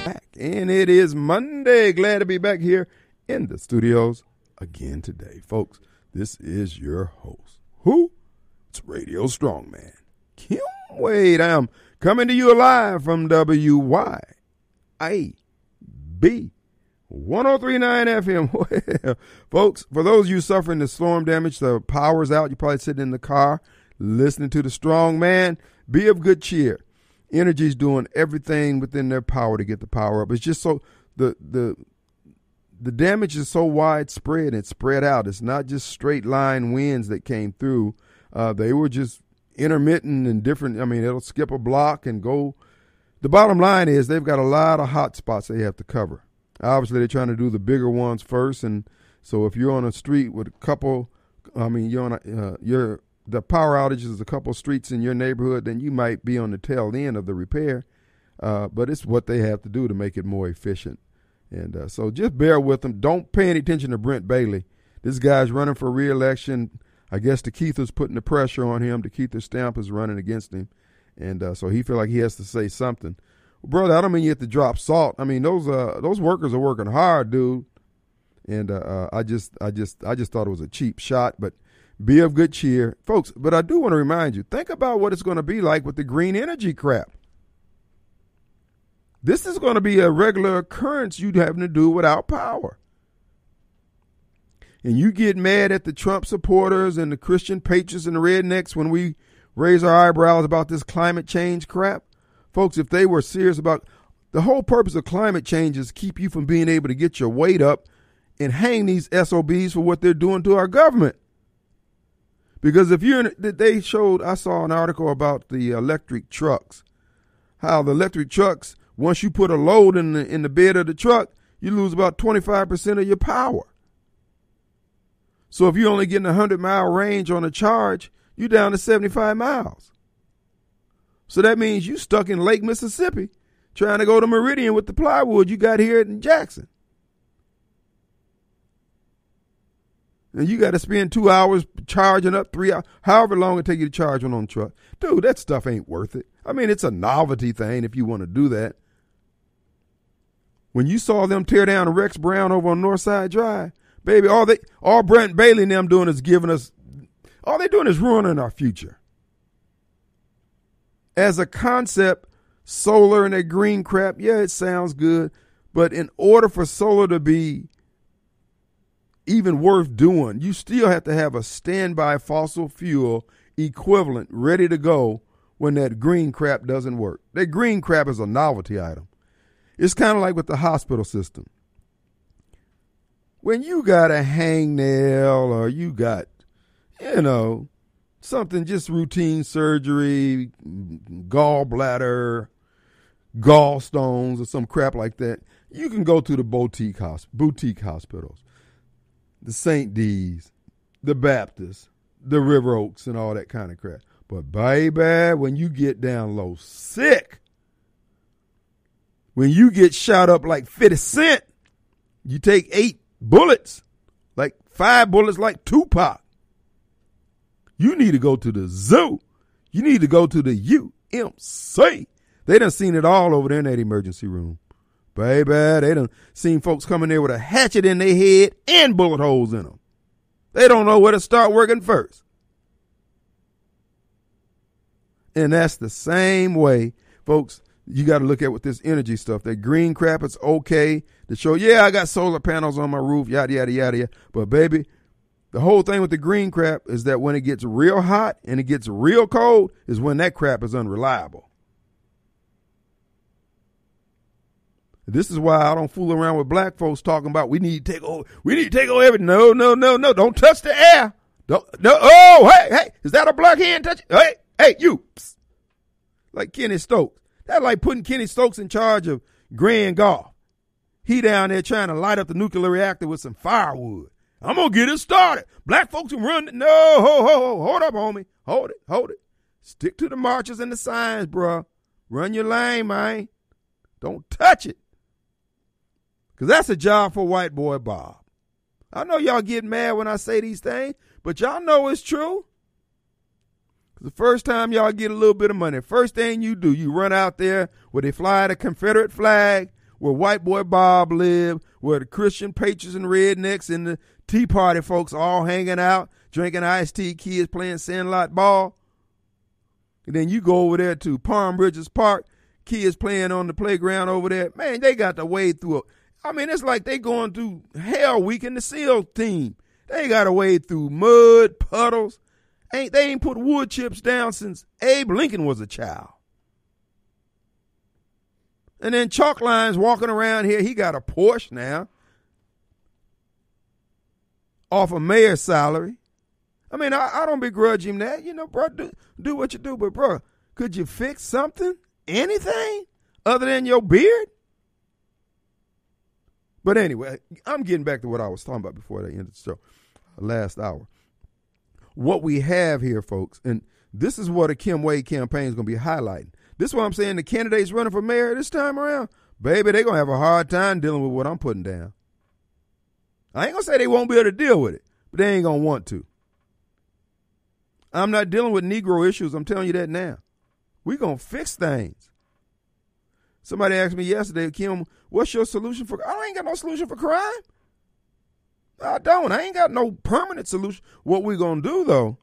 Back. And it is Monday. Glad to be back here in the studios again today. Folks, this is your host. Who? It's Radio Strongman, Kim Wade. I'm coming to you live from W Y A B one oh three point nine F M. Well, folks, for those of you suffering the storm damage, the power's out. You're probably sitting in the car listening to the strong man. Be of good cheer. Energy's doing everything within their power to get the power up. It's just so the the the damage is so widespread and spread out. It's not just straight line winds that came through. Uh, they were just intermittent and different. I mean, it'll skip a block and go. The bottom line is they've got a lot of hot spots they have to cover. Obviously, they're trying to do the bigger ones first. And so if you're on a street with a couple, I mean, you're on a, uh, you're the power outage is a couple streets in your neighborhood, then you might be on the tail end of the repair. Uh, but it's what they have to do to make it more efficient. And uh, so just bear with them. Don't pay any attention to Brent Bailey. This guy's running for re-election. I guess the Keither's putting the pressure on him. The Keither stamp is running against him. And uh, so he feel like he has to say something. Well, brother, I don't mean you have to drop salt. I mean, those uh, those workers are working hard, dude. And uh, uh, I just I just I just thought it was a cheap shot, but be of good cheer. Folks, but I do want to remind you, think about what it's going to be like with the green energy crap. This is going to be a regular occurrence you'd having to do without power. And you get mad at the Trump supporters and the Christian patriots and the rednecks when we raise our eyebrows about this climate change crap. Folks, if they were serious about the whole purpose of climate change is keep you from being able to get your weight up and hang these S O Bs for what they're doing to our government. Because if you're in, they showed, I saw an article about the electric trucks, how the electric trucks, once you put a load in the, in the bed of the truck, you lose about twenty-five percent of your power. So if you're only getting a hundred mile range on a charge, you're down to seventy-five miles. So that means you stuck in Lake Mississippi trying to go to Meridian with the plywood you got here in Jackson. And you got to spend two hours charging up, three hours, however long it take you to charge one on the truck. Dude, that stuff ain't worth it. I mean, it's a novelty thing if you want to do that. When you saw them tear down Rex Brown over on Northside Drive, baby, all they, all Brent Bailey and them doing is giving us, all they doing is ruining our future. As a concept, solar and that green crap, yeah, it sounds good. But in order for solar to be even worth doing, you still have to have a standby fossil fuel equivalent ready to go when that green crap doesn't work. That green crap is a novelty item. It's kind of like with the hospital system. When you got a hangnail or you got, you know, something just routine surgery, gallbladder, gallstones or some crap like that, you can go to the boutique, hosp- boutique hospitals. The Saint D's, the Baptists, the River Oaks, and all that kind of crap. But baby, when you get down low sick, when you get shot up like fifty cent, you take eight bullets, like five bullets like Tupac. You need to go to the zoo. You need to go to the U M C. They done seen it all over there in that emergency room. Baby, they done seen folks coming there with a hatchet in their head and bullet holes in them. They don't know where to start working first. And that's the same way, folks, you got to look at with this energy stuff. That green crap, it's okay to show, yeah, I got solar panels on my roof, yada, yada, yada, yada. But, baby, the whole thing with the green crap is that when it gets real hot and it gets real cold is when that crap is unreliable. This is why I don't fool around with black folks talking about we need to take over. We need to take over everything. No, no, no, no. Don't touch the air. Don't, no. Oh, hey, hey. Is that a black hand touch? Hey, hey, you. Psst. Like Kenny Stokes. That's like putting Kenny Stokes in charge of Grand Gulf. He down there trying to light up the nuclear reactor with some firewood. I'm going to get it started. Black folks can run. No, ho, ho, ho. Hold up, homie. Hold it, hold it. Stick to the marches and the signs, bruh. Run your lane, man. Don't touch it. Because that's a job for white boy Bob. I know y'all get mad when I say these things, but y'all know it's true. The first time y'all get a little bit of money, first thing you do, you run out there where they fly the Confederate flag where White Boy Bob lived, where the Christian patriots and rednecks and the Tea Party folks all hanging out, drinking iced tea, kids playing sandlot ball. And then you go over there to Palm Bridges Park, kids playing on the playground over there. Man, they got to wade through it. I mean, it's like they going through hell week in the SEAL team. They got to wade through mud, puddles. Ain't They ain't put wood chips down since Abe Lincoln was a child. And then Chalk Line's walking around here. He got a Porsche now off a mayor's salary. I mean, I, I don't begrudge him that. You know, bro, do, do what you do. But, bro, could you fix something, anything, other than your beard? But anyway, I'm getting back to what I was talking about before they ended the show, last hour. What we have here, folks, and this is what a Kim Wade campaign is going to be highlighting. This is what I'm saying. The candidates running for mayor this time around, baby, they're going to have a hard time dealing with what I'm putting down. I ain't going to say they won't be able to deal with it, but they ain't going to want to. I'm not dealing with Negro issues. I'm telling you that now. We're going to fix things. Somebody asked me yesterday, Kim, what's your solution for? I ain't got no solution for crime. I don't. I ain't got no permanent solution. What we going to do, though,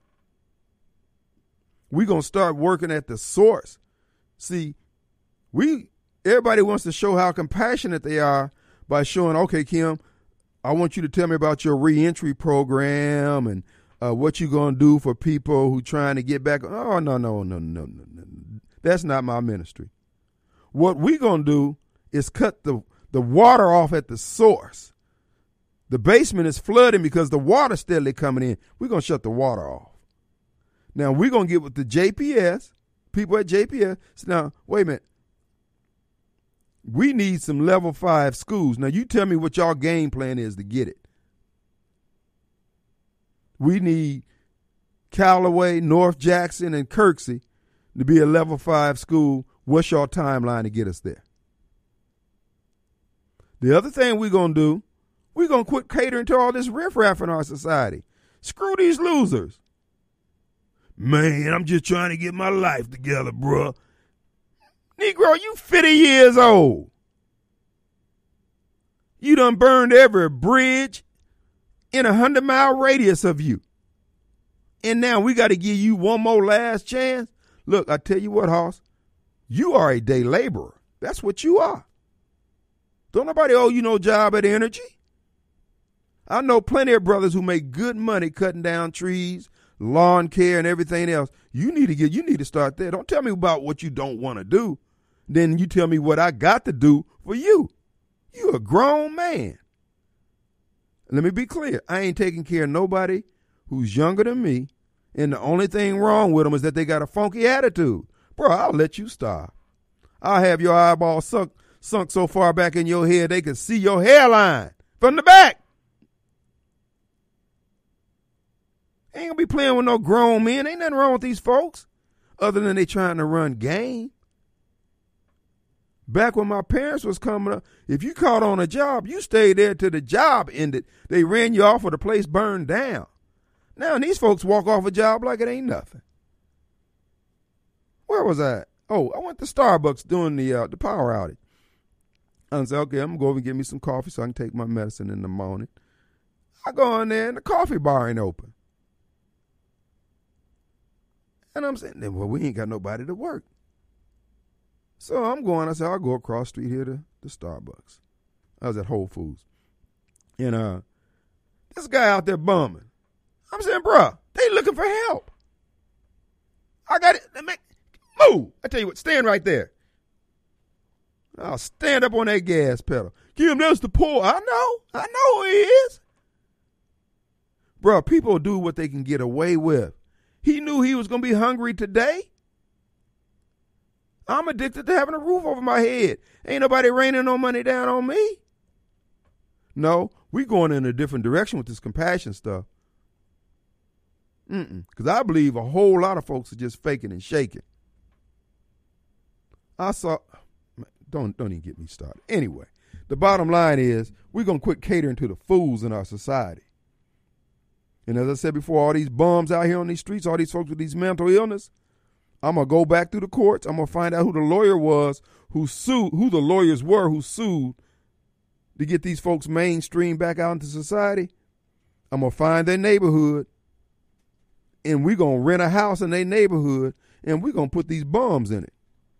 we going to start working at the source. See, we everybody wants to show how compassionate they are by showing, okay, Kim, I want you to tell me about your reentry program and uh, what you're going to do for people who trying to get back. Oh, no, no, no, no, no, no. That's not my ministry. What we're going to do is cut the, the water off at the source. The basement is flooding because the water's steadily coming in. We're going to shut the water off. Now, we're going to get with the J P S, people at J P S. So now, wait a minute. We need some level five schools. Now, you tell me what y'all game plan is to get it. We need Callaway, North Jackson, and Kirksey to be a level five school. What's your timeline to get us there? The other thing we're going to do, we're going to quit catering to all this riffraff in our society. Screw these losers. Man, I'm just trying to get my life together, bruh. Negro, you fifty years old. You done burned every bridge in a hundred mile radius of you. And now we got to give you one more last chance. Look, I tell you what, Hoss, you are a day laborer. That's what you are. Don't nobody owe you no job at Energy. I know plenty of brothers who make good money cutting down trees, lawn care, and everything else. You need to get, you need to start there. Don't tell me about what you don't want to do. Then you tell me what I got to do for you. You a grown man. Let me be clear. I ain't taking care of nobody who's younger than me, and the only thing wrong with them is that they got a funky attitude. Bro, I'll let you starve. I'll have your eyeball sunk, sunk so far back in your head they can see your hairline from the back. Ain't gonna be playing with no grown men. Ain't nothing wrong with these folks other than they trying to run game. Back when my parents was coming up, if you caught on a job, you stayed there till the job ended. They ran you off or the place burned down. Now these folks walk off a job like it ain't nothing. Where was I? Oh, I went to Starbucks during the uh, the power outage. I said, okay, I'm going to go over and get me some coffee so I can take my medicine in the morning. I go in there and the coffee bar ain't open. And I'm saying, well, we ain't got nobody to work. So I'm going, I said, I'll go across the street here to, to Starbucks. I was at Whole Foods. And uh, this guy out there bumming. I'm saying, bruh, they looking for help. I got it. Move. I tell you what, stand right there. I'll stand up on that gas pedal. Kim, that's the poor. I know. I know who he is. Bruh, people do what they can get away with. He knew he was going to be hungry today. I'm addicted to having a roof over my head. Ain't nobody raining no money down on me. No, we going in a different direction with this compassion stuff. Mm-mm. Because I believe a whole lot of folks are just faking and shaking. I saw, don't, don't even get me started. Anyway, the bottom line is we're going to quit catering to the fools in our society. And as I said before, all these bums out here on these streets, all these folks with these mental illness, I'm going to go back through the courts. I'm going to find out who the lawyer was who sued, who the lawyers were who sued to get these folks mainstream back out into society. I'm going to find their neighborhood, and we're going to rent a house in their neighborhood, and we're going to put these bums in it.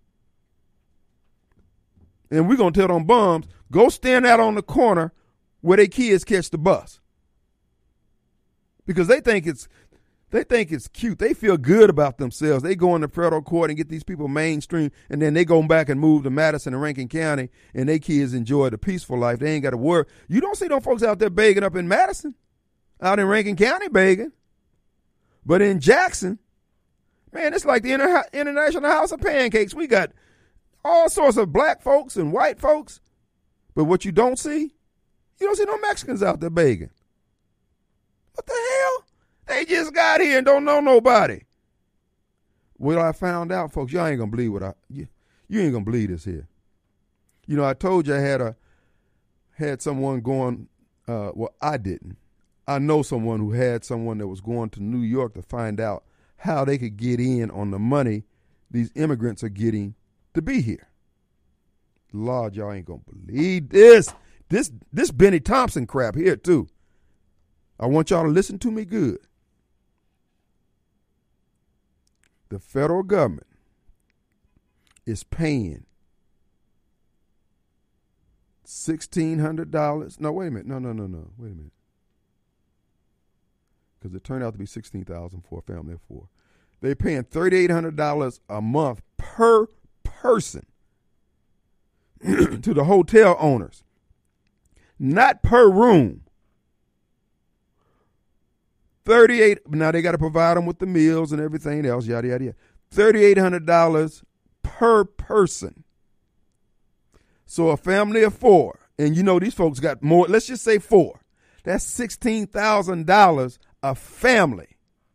And we're going to tell them bums, go stand out on the corner where their kids catch the bus. Because they think it's they think it's cute. They feel good about themselves. They go into federal court and get these people mainstream, and then they go back and move to Madison and Rankin County, and their kids enjoy the peaceful life. They ain't got to worry. You don't see them folks out there begging up in Madison, out in Rankin County begging. But in Jackson, man, it's like the Inter- International House of Pancakes. We got all sorts of black folks and white folks. But what you don't see, you don't see no Mexicans out there begging. What the hell? They just got here and don't know nobody. Well, I found out, folks, y'all ain't going to believe what I, you, you ain't going to believe this here. You know, I told you I had a, had someone going, uh, well, I didn't. I know someone who had someone that was going to New York to find out how they could get in on the money these immigrants are getting to be here. Lord, y'all ain't going to believe this. This, this Benny Thompson crap here, too. I want y'all to listen to me good. The federal government is paying sixteen hundred dollars. No, wait a minute. No, no, no, no. Wait a minute. Because it turned out to be sixteen thousand dollars for a family of four. They're paying thirty-eight hundred dollars a month per person to the hotel owners. Not per room. thirty-eight now they got to provide them with the meals and everything else, yada, yada, yada. thirty-eight hundred dollars per person. So a family of four, and you know these folks got more, let's just say four. That's sixteen thousand dollars a family.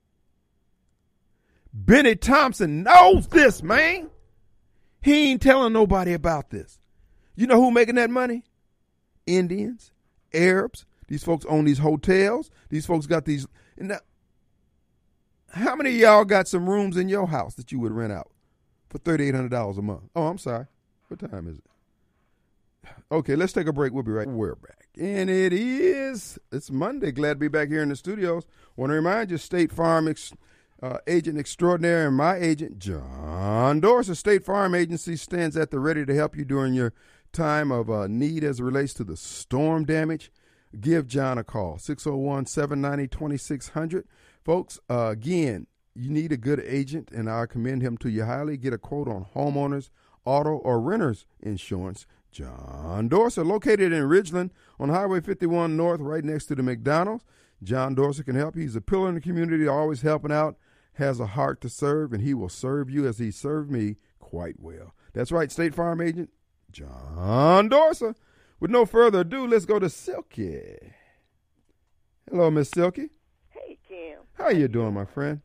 Benny Thompson knows this, man. He ain't telling nobody about this. You know who making that money? Indians, Arabs. These folks own these hotels. These folks got these. And now, how many of y'all got some rooms in your house that you would rent out for thirty-eight hundred dollars a month? Oh, I'm sorry. What time is it? Okay, let's take a break. We'll be right. We're back. And it is, it's Monday. Glad to be back here in the studios. Want to remind you, State Farm ex, uh, agent extraordinaire and my agent, John Dorsey. State Farm Agency stands at the ready to help you during your time of uh, need as it relates to the storm damage. Give John a call, six oh one, seven nine zero, two six zero zero. Folks, uh, again, you need a good agent, and I commend him to you highly. Get a quote on homeowners, auto, or renters insurance. John Dorsey, located in Ridgeland on Highway fifty-one North, right next to the McDonald's. John Dorsey can help you. He's a pillar in the community, always helping out, has a heart to serve, and he will serve you as he served me quite well. That's right, State Farm agent John Dorsey. With no further ado, let's go to Silky. Hello, Miss Silky. Hey, Kim. How you doing, my friend?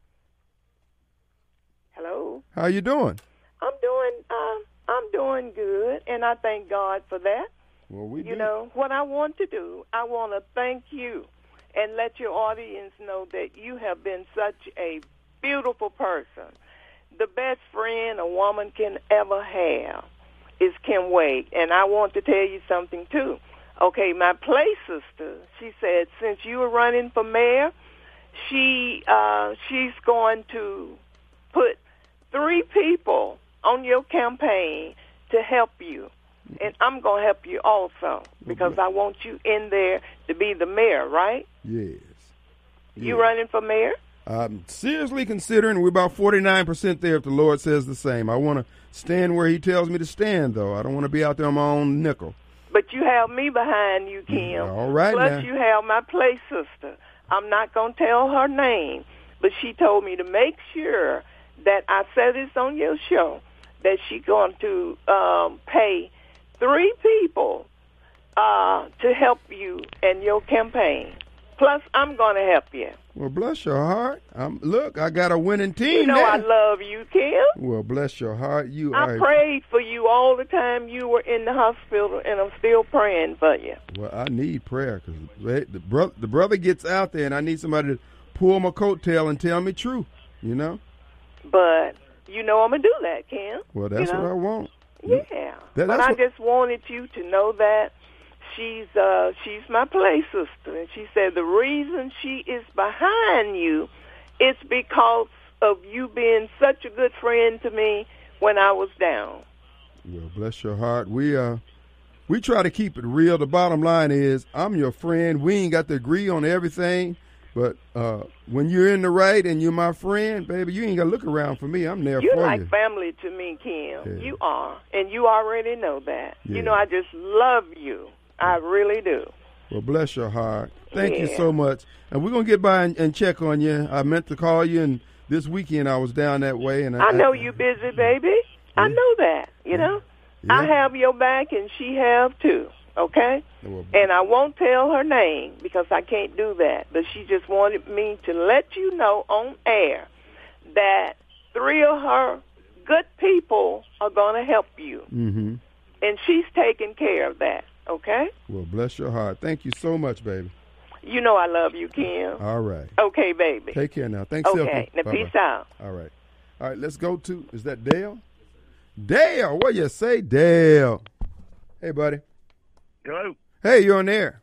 Hello. How you doing? I'm doing. Uh, I'm doing good, and I thank God for that. Well, we You do. know what I want to do. I want to thank you, and let your audience know that you have been such a beautiful person, the best friend a woman can ever have. Is Kim Wade, and I want to tell you something, too. Okay, my play sister, she said, since you were running for mayor, she uh, she's going to put three people on your campaign to help you, and I'm going to help you also because I want you in there to be the mayor, right? Yes. You yes. running for mayor? I'm seriously considering. We're about forty-nine percent there if the Lord says the same. I want to stand where he tells me to stand, though. I don't want to be out there on my own nickel. But you have me behind you, Kim. All right, Plus, now. you have my play sister. I'm not going to tell her name, but she told me to make sure that I said this on your show, that she's going to um, pay three people uh, to help you in your campaign. Plus, I'm going to help you. Well, bless your heart. Um, look, I got a winning team You know there. I love you, Kim. Well, bless your heart. You I are. prayed for you all the time you were in the hospital, and I'm still praying for you. Well, I need prayer because the brother, the brother gets out there, and I need somebody to pull my coattail and tell me true. You know. But you know I'm going to do that, Kim. Well, that's you know? what I want. Yeah. That, but I what... just wanted you to know that she's uh, she's my play sister. And she said the reason she is behind you is because of you being such a good friend to me when I was down. Well, bless your heart. We uh, we try to keep it real. The bottom line is I'm your friend. We ain't got to agree on everything. But uh, when you're in the right and you're my friend, baby, you ain't got to look around for me. I'm there you're for like you. family to me, Kim. Yeah. You are. And you already know that. Yeah. You know, I just love you. I really do. Well, bless your heart. Thank yeah. you so much. And we're going to get by and, and check on you. I meant to call you, and this weekend I was down that way. And I, I know I, you busy, baby. Yeah. I know that, you know. Yeah. I have your back, and she have too. Okay? Well, and I won't tell her name because I can't do that. But she just wanted me to let you know on air that three of her good people are going to help you. Mm-hmm. And she's taking care of that. Okay? Well, bless your heart. Thank you so much, baby. You know I love you, Kim. All right. Okay, baby. Take care now. Thanks, Okay. Now, peace out. All right. All right, let's go to, is that Dale? Dale, what you say, Dale? Hey, buddy. Hello. Hey, you're on air.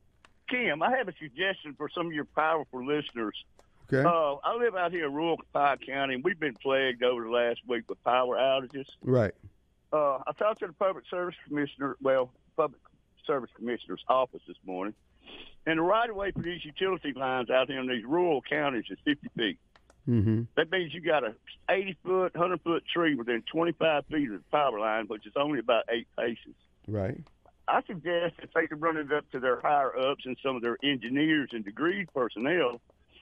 Kim, I have a suggestion for some of your powerful listeners. Okay. Uh, I live out here in rural Pike County, and we've been plagued over the last week with power outages. Right. Uh, I talked to the Public Service Commissioner, well, Public Service Commissioner's office this morning, and the right-of-way for these utility lines out here in these rural counties is fifty feet. Mm-hmm. That means you got a eighty-foot, one hundred-foot tree within twenty-five feet of the power line, which is only about eight paces. Right. I suggest if they could run it up to their higher-ups and some of their engineers and degreed personnel,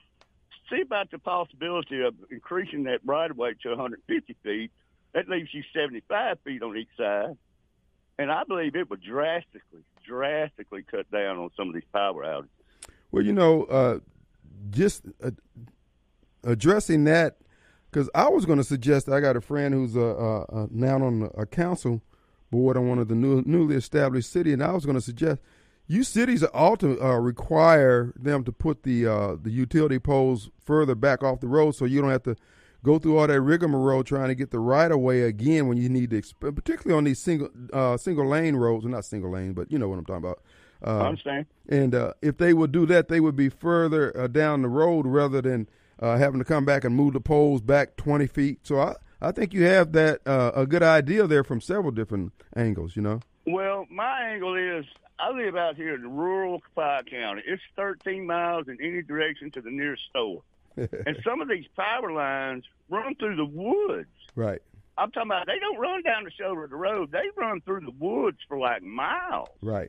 see about the possibility of increasing that right-of-way to one hundred fifty feet. That leaves you seventy-five feet on each side. And I believe it would drastically, drastically cut down on some of these power outages. Well, you know, uh, just uh, addressing that, because I was going to suggest, I got a friend who's uh, uh, now on a council board on one of the new, newly established city, and I was going to suggest you cities ought to uh, require them to put the uh, the utility poles further back off the road so you don't have to go through all that rigmarole trying to get the right of way again when you need to, exp- particularly on these single uh, single lane roads, well, not single lane, but you know what I'm talking about. Uh, I understand. And uh, if they would do that, they would be further uh, down the road rather than uh, having to come back and move the poles back twenty feet. So I, I think you have that uh, a good idea there from several different angles, you know. Well, my angle is I live out here in rural Pike County. It's thirteen miles in any direction to the nearest store. And some of these power lines run through the woods. Right. I'm talking about they don't run down the shoulder of the road. They run through the woods for like miles. Right.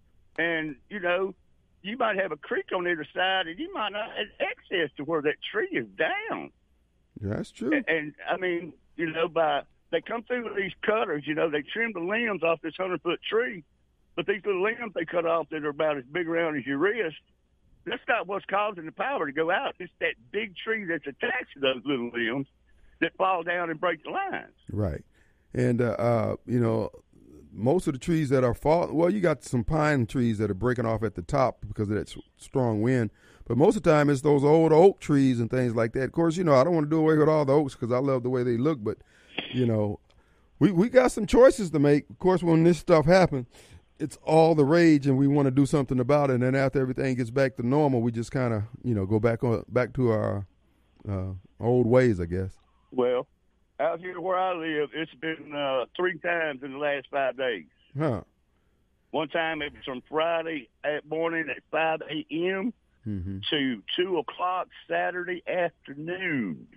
And, you know, you might have a creek on either side, and you might not have access to where that tree is down. That's true. And, and I mean, you know, by they come through with these cutters, you know, they trim the limbs off this hundred-foot tree, but these little limbs they cut off that are about as big around as your wrist, that's not what's causing the power to go out. It's that big tree that's attached to those little limbs that fall down and break the lines. Right. And, uh, uh, you know, most of the trees that are falling, well, you got some pine trees that are breaking off at the top because of that strong wind. But most of the time it's those old oak trees and things like that. Of course, you know, I don't want to do away with all the oaks because I love the way they look. But, you know, we, we got some choices to make. Of course, when this stuff happens, it's all the rage and we want to do something about it. And then after everything gets back to normal, we just kind of, you know, go back on back to our uh, old ways, I guess. Well, out here where I live, it's been uh, three times in the last five days. Huh. One time it was from Friday at morning at five a.m. Mm-hmm. to two o'clock Saturday afternoon.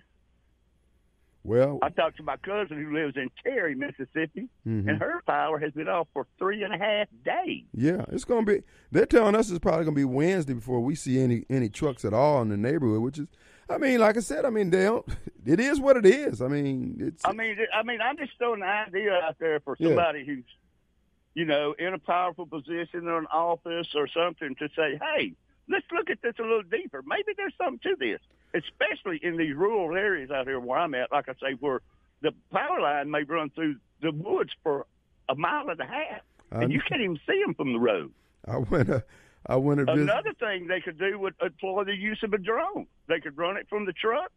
Well, I talked to my cousin who lives in Terry, Mississippi, mm-hmm. and her power has been off for three and a half days. Yeah, it's going to be, they're telling us it's probably going to be Wednesday before we see any, any trucks at all in the neighborhood, which is, I mean, like I said, I mean, they don't, it is what it is. I mean, it's. I mean, I mean, I'm just throwing an idea out there for somebody yeah. who's, you know, in a powerful position or an office or something to say, hey, let's look at this a little deeper. Maybe there's something to this, especially in these rural areas out here where I'm at, like I say, where the power line may run through the woods for a mile and a half, and I, you can't even see them from the road. I went to, I went to visit. Another thing they could do would employ the use of a drone. They could run it from the truck,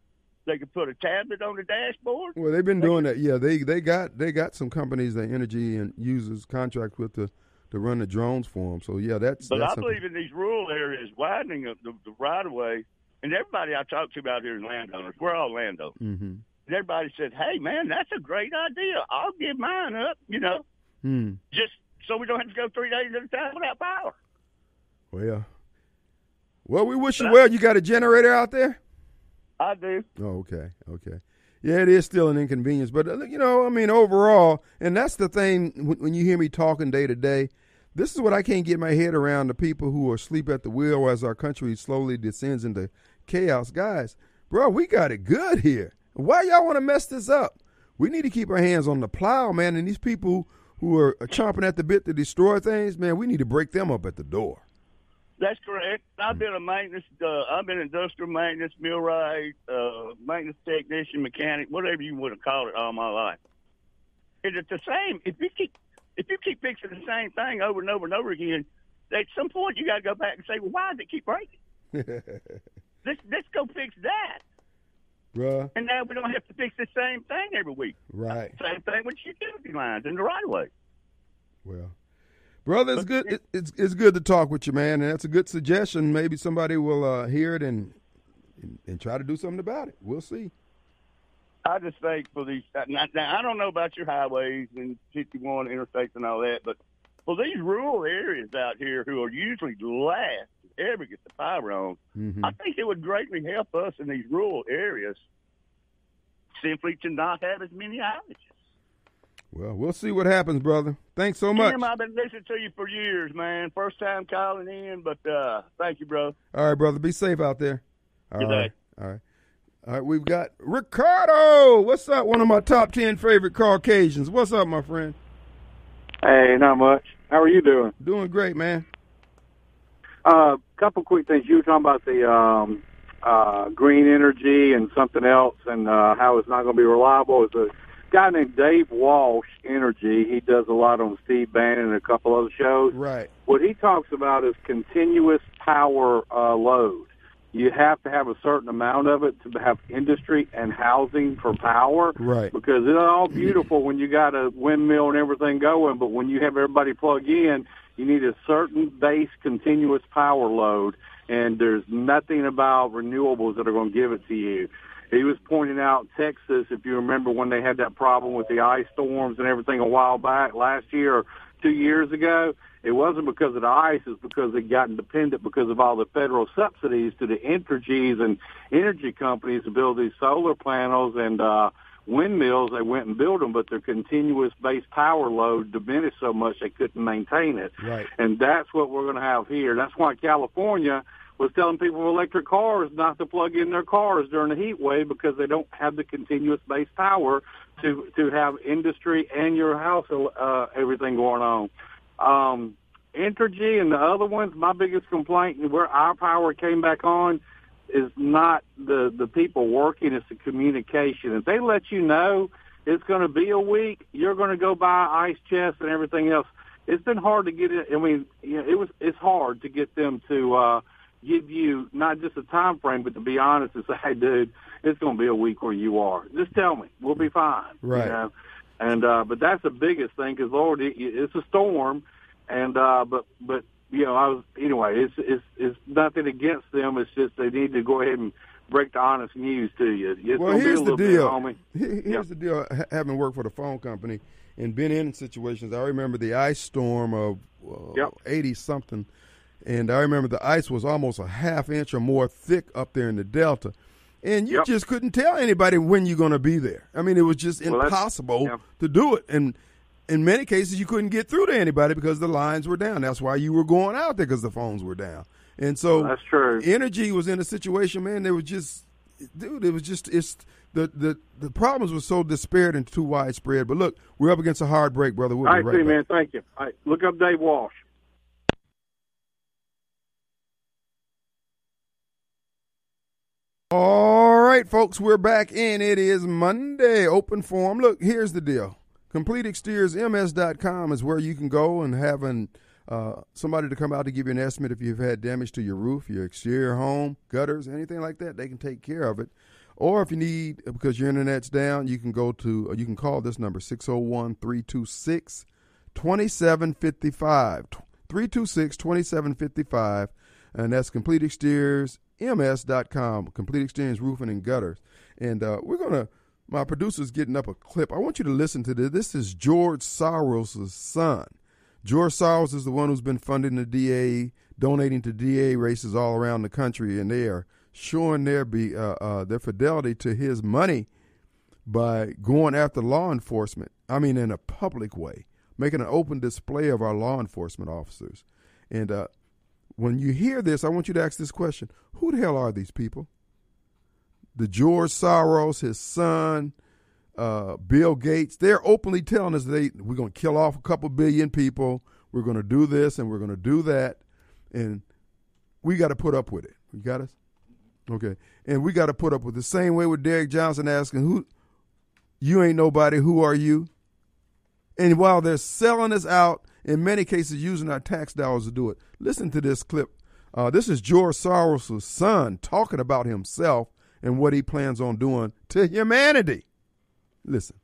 They could put a tablet on the dashboard. Well, they've been they doing could, that. Yeah, they they got they got some companies that Energy and users contract with to, to run the drones for them. So yeah, that's. But that's I something. believe in these rural areas, widening of the, the right of way, and everybody I talk to about here is landowners. We're all landowners. Mm-hmm. And everybody said, "Hey, man, that's a great idea. I'll give mine up." You know, mm. just so we don't have to go three days at a time without power. Well, well, we wish you well. You got a generator out there? I do. Oh, okay, okay. Yeah, it is still an inconvenience, but uh, you know, I mean, overall, and that's the thing when, when you hear me talking day to day. This is what I can't get my head around: the people who are asleep at the wheel as our country slowly descends into chaos. Guys, bro, we got it good here. Why y'all want to mess this up? We need to keep our hands on the plow, man. And these people who are chomping at the bit to destroy things, man, we need to break them up at the door. That's correct. I've been a maintenance, uh, I've been industrial maintenance, millwright, uh, maintenance technician, mechanic, whatever you want to call it, all my life. And it's the same. If you keep, if you keep fixing the same thing over and over and over again, at some point you got to go back and say, well, why does it keep breaking? let's let's go fix that. Bruh. And now we don't have to fix the same thing every week. Right. Same thing with utility lines in the right of way. Well. Brother, it's good. It, it's it's good to talk with you, man, and that's a good suggestion. Maybe somebody will uh, hear it and, and and try to do something about it. We'll see. I just think for these now, now I don't know about your highways and fifty-one interstates and all that, but for these rural areas out here who are usually the last to ever get the power on, mm-hmm. I think it would greatly help us in these rural areas simply to not have as many outages. Well, we'll see what happens, brother. Thanks so much. Tim, I've been listening to you for years, man. First time calling in, but uh, thank you, bro. All right, brother. Be safe out there. All Good right. day. All right. All right, we've got Ricardo. What's up? One of my top ten favorite Caucasians. What's up, my friend? Hey, not much. How are you doing? Doing great, man. A uh, couple quick things. You were talking about the um, uh, green energy and something else and uh, how it's not going to be reliable. It's a guy named Dave Walsh Energy. He does a lot on Steve Bannon and a couple other shows. Right. What he talks about is continuous power uh, load. You have to have a certain amount of it to have industry and housing for power. Right. Because it's all beautiful when you got a windmill and everything going, but when you have everybody plug in, you need a certain base continuous power load, and there's nothing about renewables that are going to give it to you. He was pointing out Texas, if you remember when they had that problem with the ice storms and everything a while back, last year or two years ago, it wasn't because of the ice, it's because they'd gotten dependent because of all the federal subsidies to the energies and energy companies to build these solar panels and uh, windmills. They went and built them, but their continuous base power load diminished so much they couldn't maintain it. Right. And that's what we're going to have here. That's why California was telling people with electric cars not to plug in their cars during the heat wave because they don't have the continuous base power to to have industry and your house, uh, everything going on. Um, Entergy and the other ones, my biggest complaint where our power came back on is not the, the people working, it's the communication. If they let you know it's going to be a week, you're going to go buy ice chests and everything else. It's been hard to get it. I mean, you know, it was it's hard to get them to uh, give you not just a time frame, but to be honest and say, hey, dude, it's going to be a week where you are. Just tell me. We'll be fine. Right. You know? And uh, but that's the biggest thing because, Lord, it, it's a storm. And uh, but but you know, I was anyway. It's it's it's nothing against them. It's just they need to go ahead and break the honest news to you. It's well, here's the deal. Bit, here's yeah. the deal. Having worked for the phone company and been in situations, I remember the ice storm of eighty uh, something, and I remember the ice was almost a half inch or more thick up there in the Delta. And you yep. just couldn't tell anybody when you're going to be there. I mean, it was just well, impossible yeah. to do it. And in many cases, you couldn't get through to anybody because the lines were down. That's why you were going out there because the phones were down. And so well, that's true. Energy was in a situation, man, they were just, dude, it was just, it's the, the, the problems were so disparate and too widespread. But look, we're up against a hard break, brother. We'll All be right, right see, back. man. Thank you. All right, look up Dave Walsh. All right, folks, we're back in. It is Monday, open forum. Look, here's the deal. complete exteriors m s dot com is where you can go and have an, uh, somebody to come out to give you an estimate if you've had damage to your roof, your exterior home, gutters, anything like that. They can take care of it. Or if you need, because your internet's down, you can go to, you can call this number, six oh one, three two six, two seven five five, three two six, two seven five five, and that's complete exteriors m s dot com, Complete Exteriors Roofing and Gutters. And uh, we're going to, my producer's getting up a clip. I want you to listen to this. This is George Soros' son. George Soros is the one who's been funding the D A, donating to D A races all around the country, and they are showing their be uh, uh, their fidelity to his money by going after law enforcement. I mean, in a public way, making an open display of our law enforcement officers. And uh, when you hear this, I want you to ask this question: who the hell are these people? The George Soros, his son, uh, Bill Gates, they're openly telling us they we're going to kill off a couple billion people. We're going to do this and we're going to do that, and we got to put up with it. You got us? Okay. And we got to put up with it. The same way with Derek Johnson asking, "Who? You ain't nobody. Who are you?" And while they're selling us out, in many cases using our tax dollars to do it, listen to this clip. Uh, this is George Soros' son talking about himself and what he plans on doing to humanity. Listen.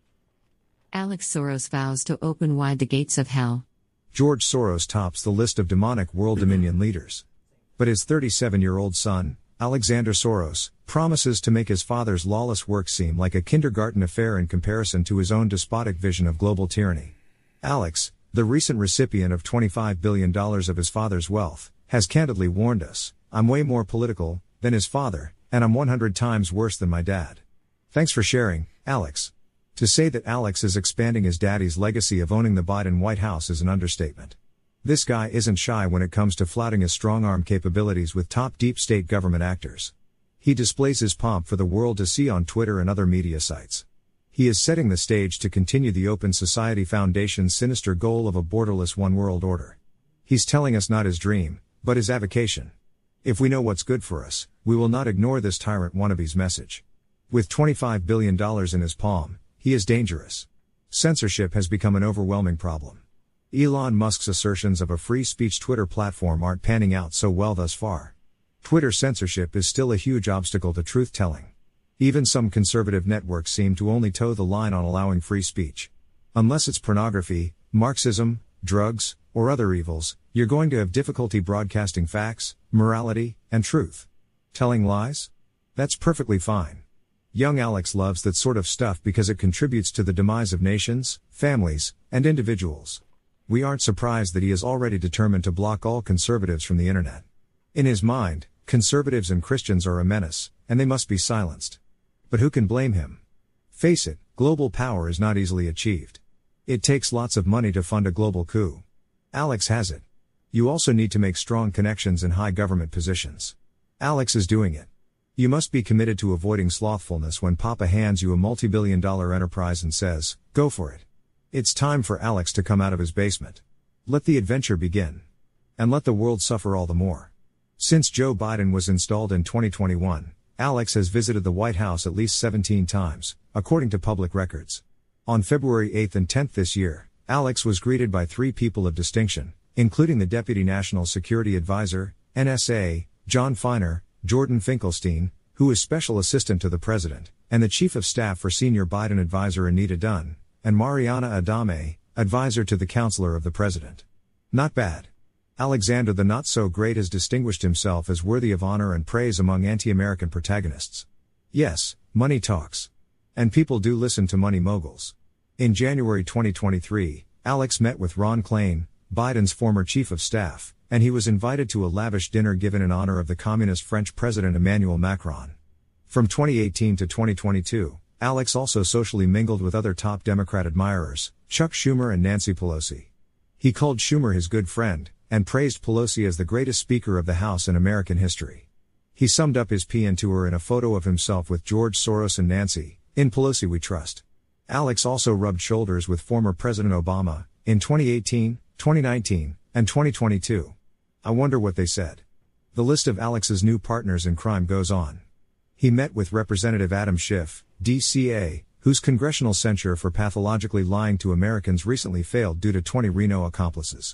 Alex Soros vows to open wide the gates of hell. George Soros tops the list of demonic world dominion leaders. But his thirty-seven-year-old son, Alexander Soros, promises to make his father's lawless work seem like a kindergarten affair in comparison to his own despotic vision of global tyranny. Alex, the recent recipient of twenty-five billion dollars of his father's wealth, has candidly warned us, "I'm way more political than his father, and I'm one hundred times worse than my dad." Thanks for sharing, Alex. To say that Alex is expanding his daddy's legacy of owning the Biden White House is an understatement. This guy isn't shy when it comes to flouting his strong-arm capabilities with top deep state government actors. He displays his pomp for the world to see on Twitter and other media sites. He is setting the stage to continue the Open Society Foundation's sinister goal of a borderless one-world order. He's telling us not his dream, but his avocation. If we know what's good for us, we will not ignore this tyrant wannabe's message. With twenty-five billion dollars in his palm, he is dangerous. Censorship has become an overwhelming problem. Elon Musk's assertions of a free speech Twitter platform aren't panning out so well thus far. Twitter censorship is still a huge obstacle to truth-telling. Even some conservative networks seem to only toe the line on allowing free speech. Unless it's pornography, Marxism, drugs, or other evils, you're going to have difficulty broadcasting facts, morality, and truth. Telling lies? That's perfectly fine. Young Alex loves that sort of stuff because it contributes to the demise of nations, families, and individuals. We aren't surprised that he is already determined to block all conservatives from the internet. In his mind, conservatives and Christians are a menace, and they must be silenced. But who can blame him? Face it, global power is not easily achieved. It takes lots of money to fund a global coup. Alex has it. You also need to make strong connections in high government positions. Alex is doing it. You must be committed to avoiding slothfulness when Papa hands you a multi-billion dollar enterprise and says, "Go for it." It's time for Alex to come out of his basement. Let the adventure begin. And let the world suffer all the more. Since Joe Biden was installed in twenty twenty-one, Alex has visited the White House at least seventeen times, according to public records. On February eighth and tenth this year, Alex was greeted by three people of distinction, including the Deputy National Security Advisor, N S A, John Feiner, Jordan Finkelstein, who is Special Assistant to the President, and the Chief of Staff for Senior Biden Advisor Anita Dunn, and Mariana Adame, Advisor to the Counselor of the President. Not bad. Alexander the Not-So-Great has distinguished himself as worthy of honor and praise among anti-American protagonists. Yes, money talks. And people do listen to money moguls. In January twenty twenty-three, Alex met with Ron Klain, Biden's former Chief of Staff, and he was invited to a lavish dinner given in honor of the communist French President Emmanuel Macron. From twenty eighteen to twenty twenty-two, Alex also socially mingled with other top Democrat admirers, Chuck Schumer and Nancy Pelosi. He called Schumer his good friend, and praised Pelosi as the greatest Speaker of the House in American history. He summed up his P N tour in a photo of himself with George Soros and Nancy, "In Pelosi we trust." Alex also rubbed shoulders with former President Obama, in twenty eighteen, twenty nineteen, and twenty twenty-two. I wonder what they said. The list of Alex's new partners in crime goes on. He met with Representative Adam Schiff, D C A, whose congressional censure for pathologically lying to Americans recently failed due to twenty Reno accomplices.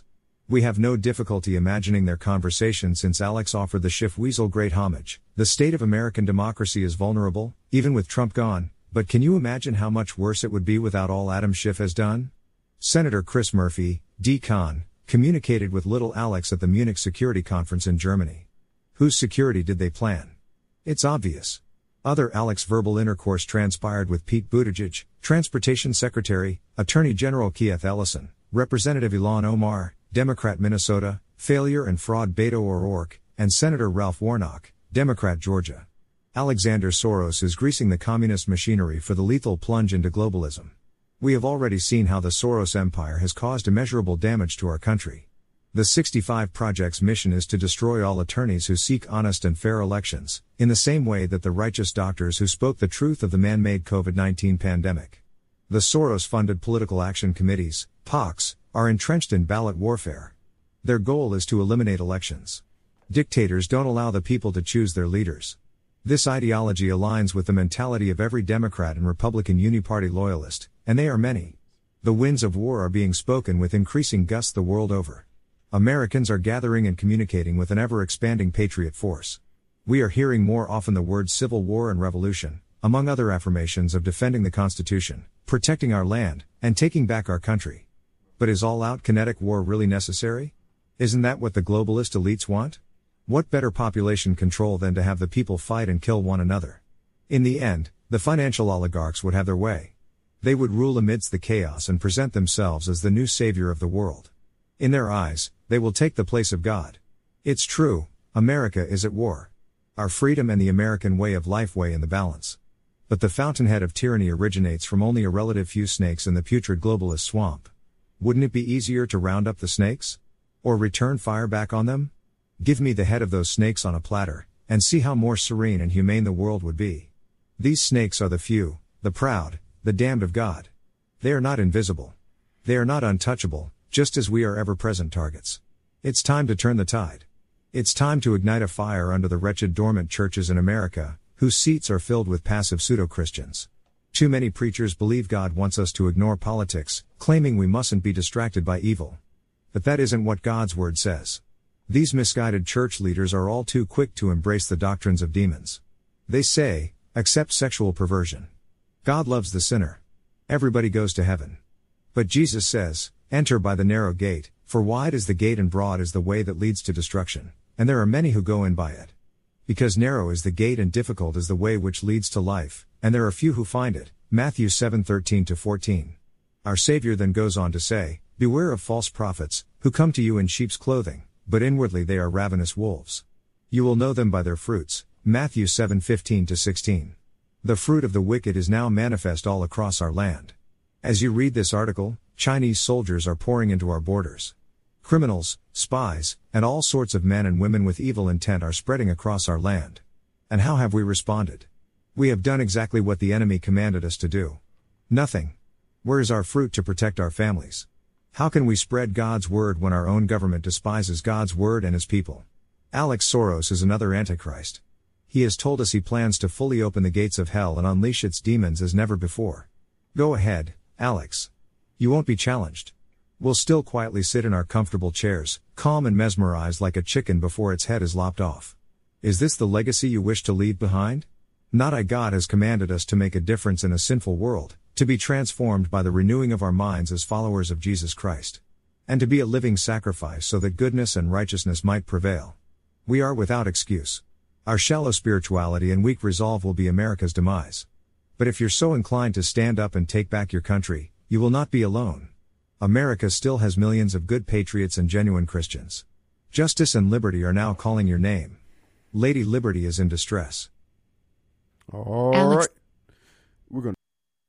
We have no difficulty imagining their conversation since Alex offered the Schiff Weasel great homage. The state of American democracy is vulnerable, even with Trump gone, but can you imagine how much worse it would be without all Adam Schiff has done? Senator Chris Murphy, D Con, communicated with little Alex at the Munich Security Conference in Germany. Whose security did they plan? It's obvious. Other Alex verbal intercourse transpired with Pete Buttigieg, Transportation Secretary, Attorney General Keith Ellison, Representative Ilhan Omar, Democrat Minnesota, Failure and Fraud Beto O'Rourke, and Senator Ralph Warnock, Democrat Georgia. Alexander Soros is greasing the communist machinery for the lethal plunge into globalism. We have already seen how the Soros empire has caused immeasurable damage to our country. The sixty-five Project's mission is to destroy all attorneys who seek honest and fair elections, in the same way that the righteous doctors who spoke the truth of the man-made COVID nineteen pandemic. The Soros-funded political action committees, P A Cs, are entrenched in ballot warfare. Their goal is to eliminate elections. Dictators don't allow the people to choose their leaders. This ideology aligns with the mentality of every Democrat and Republican uniparty loyalist, and they are many. The winds of war are being spoken with increasing gusts the world over. Americans are gathering and communicating with an ever-expanding patriot force. We are hearing more often the words civil war and revolution, among other affirmations of defending the Constitution, protecting our land, and taking back our country. But is all-out kinetic war really necessary? Isn't that what the globalist elites want? What better population control than to have the people fight and kill one another? In the end, the financial oligarchs would have their way. They would rule amidst the chaos and present themselves as the new savior of the world. In their eyes, they will take the place of God. It's true, America is at war. Our freedom and the American way of life weigh in the balance. But the fountainhead of tyranny originates from only a relative few snakes in the putrid globalist swamp. Wouldn't it be easier to round up the snakes? Or return fire back on them? Give me the head of those snakes on a platter, and see how more serene and humane the world would be. These snakes are the few, the proud, the damned of God. They are not invisible. They are not untouchable, just as we are ever-present targets. It's time to turn the tide. It's time to ignite a fire under the wretched dormant churches in America, whose seats are filled with passive pseudo-Christians. Too many preachers believe God wants us to ignore politics, claiming we mustn't be distracted by evil. But that isn't what God's word says. These misguided church leaders are all too quick to embrace the doctrines of demons. They say, accept sexual perversion. God loves the sinner. Everybody goes to heaven. But Jesus says, enter by the narrow gate, for wide is the gate and broad is the way that leads to destruction, and there are many who go in by it. Because narrow is the gate and difficult is the way which leads to life, and there are few who find it. Matthew seven thirteen to fourteen. Our Savior then goes on to say, beware of false prophets, who come to you in sheep's clothing, but inwardly they are ravenous wolves. You will know them by their fruits. Matthew seven fifteen to sixteen. The fruit of the wicked is now manifest all across our land. As you read this article, Chinese soldiers are pouring into our borders. Criminals, spies, and all sorts of men and women with evil intent are spreading across our land. And how have we responded? We have done exactly what the enemy commanded us to do. Nothing. Where is our fruit to protect our families? How can we spread God's word when our own government despises God's word and his people? Alex Soros is another antichrist. He has told us he plans to fully open the gates of hell and unleash its demons as never before. Go ahead, Alex. You won't be challenged. We'll still quietly sit in our comfortable chairs, calm and mesmerized like a chicken before its head is lopped off. Is this the legacy you wish to leave behind? Not I. God has commanded us to make a difference in a sinful world, to be transformed by the renewing of our minds as followers of Jesus Christ, and to be a living sacrifice so that goodness and righteousness might prevail. We are without excuse. Our shallow spirituality and weak resolve will be America's demise. But if you're so inclined to stand up and take back your country, you will not be alone. America still has millions of good patriots and genuine Christians. Justice and liberty are now calling your name. Lady Liberty is in distress. All Alex- right. We're going to.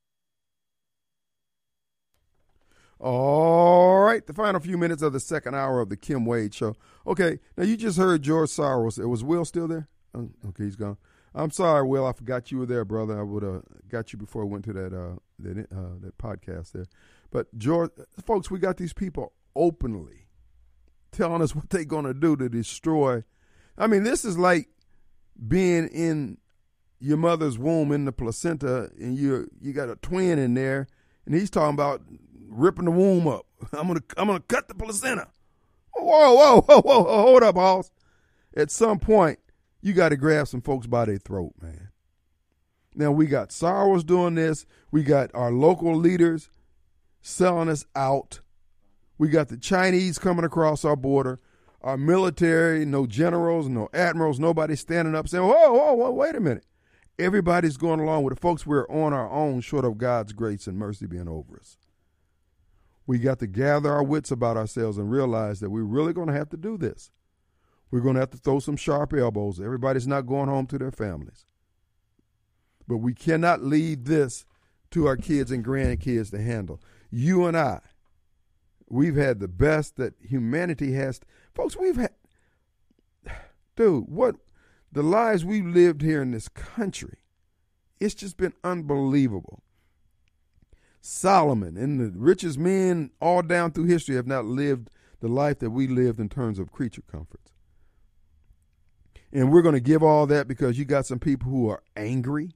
All right. The final few minutes of the second hour of the Kim Wade Show. Okay. Now, you just heard George Soros. Was Will still there? Oh, okay, he's gone. I'm sorry, Will. I forgot you were there, brother. I would have got you before I went to that uh, that uh, that podcast there. But George, folks, we got these people openly telling us what they're going to do to destroy. I mean, this is like being in your mother's womb in the placenta, and you you got a twin in there, and he's talking about ripping the womb up. I'm gonna I'm gonna cut the placenta. Whoa, whoa, whoa, whoa, whoa, hold up, boss. At some point, you got to grab some folks by their throat, man. Now, we got Soros doing this. We got our local leaders selling us out. We got the Chinese coming across our border. Our military, no generals, no admirals, nobody standing up saying, whoa, whoa, whoa, wait a minute. Everybody's going along with it. Folks, we're on our own short of God's grace and mercy being over us. We got to gather our wits about ourselves and realize that we're really going to have to do this. We're going to have to throw some sharp elbows. Everybody's not going home to their families. But we cannot leave this to our kids and grandkids to handle. You and I, we've had the best that humanity has. Folks, we've had, dude, what, the lives we've lived here in this country, it's just been unbelievable. Solomon and the richest men all down through history have not lived the life that we lived in terms of creature comforts. And we're going to give all that because you got some people who are angry.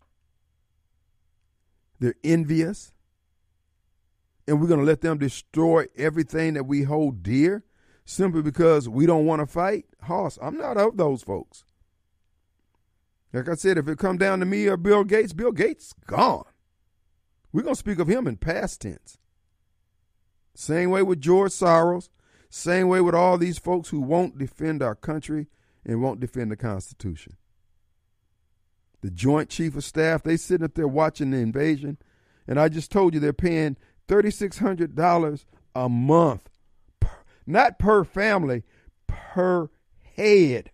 They're envious. And we're going to let them destroy everything that we hold dear simply because we don't want to fight. Hoss, I'm not of those folks. Like I said, if it come down to me or Bill Gates, Bill Gates gone. We're going to speak of him in past tense. Same way with George Soros. Same way with all these folks who won't defend our country and won't defend the Constitution. The Joint Chief of Staff, they sitting up there watching the invasion. And I just told you they're paying three thousand six hundred dollars a month. Per, not per family, per head.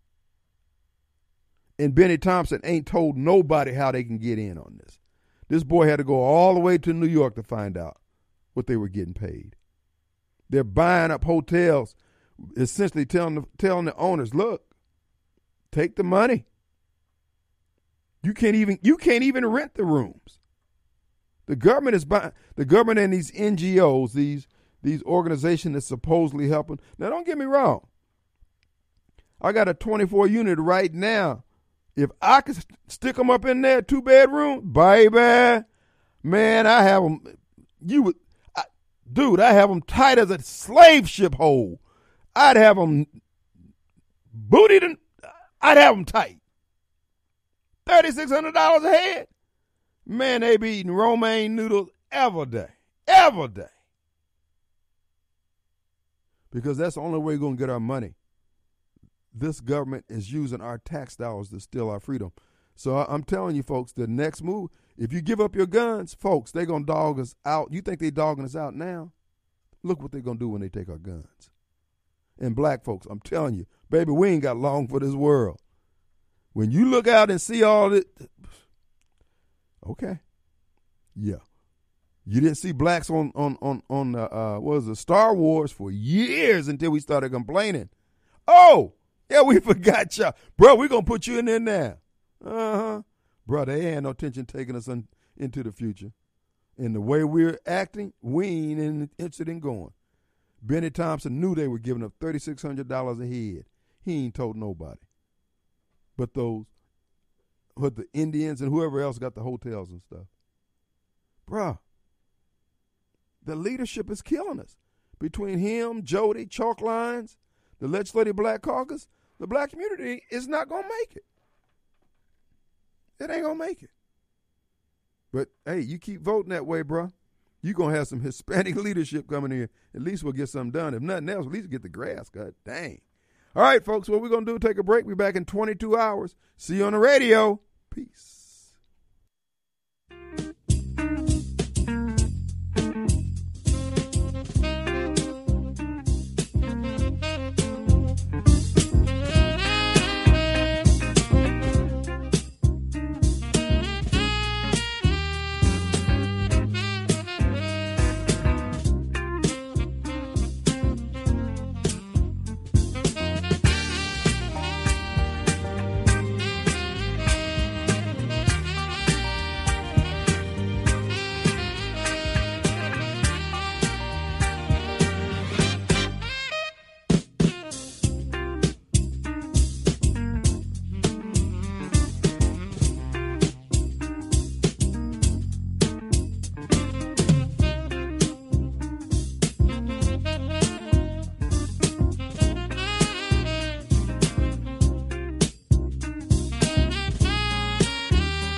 And Benny Thompson ain't told nobody how they can get in on this. This boy had to go all the way to New York to find out what they were getting paid. They're buying up hotels, essentially telling the, telling the owners, look, take the money. You can't even you can't even rent the rooms. The government is buying, the government and these N G Os, these these organizations that's supposedly helping. Now, don't get me wrong. I got a twenty-four unit right now. If I could stick them up in there, two bedroom, baby, man, I have them. You would, I, dude, I have them tight as a slave ship hole. I'd have them booted and I'd have them tight. three thousand six hundred dollars a head. Man, they be eating romaine noodles every day. Every day. Because that's the only way we're going to get our money. This government is using our tax dollars to steal our freedom. So I'm telling you, folks, the next move, if you give up your guns, folks, they're going to dog us out. You think they're dogging us out now? Look what they're going to do when they take our guns. And black folks, I'm telling you, baby, we ain't got long for this world. When you look out and see all this, okay, yeah. You didn't see blacks on, on, on, on uh, uh, what was it, Star Wars for years until we started complaining. Oh, yeah, we forgot y'all. Bro, we're going to put you in there now. Uh-huh. Bro, they ain't no tension taking us on, into the future. And the way we're acting, we ain't interested in going. Benny Thompson knew they were giving up three thousand six hundred dollars a head. He ain't told nobody. But those, but the Indians and whoever else got the hotels and stuff. Bruh, the leadership is killing us. Between him, Jody, Chalk Lines, the Legislative Black Caucus, the black community is not going to make it. It ain't going to make it. But, hey, you keep voting that way, bruh. You're going to have some Hispanic leadership coming in. At least we'll get something done. If nothing else, at least get the grass cut. Dang. All right, folks, what we're going to do, take a break. We're back in twenty-two hours. See you on the radio. Peace.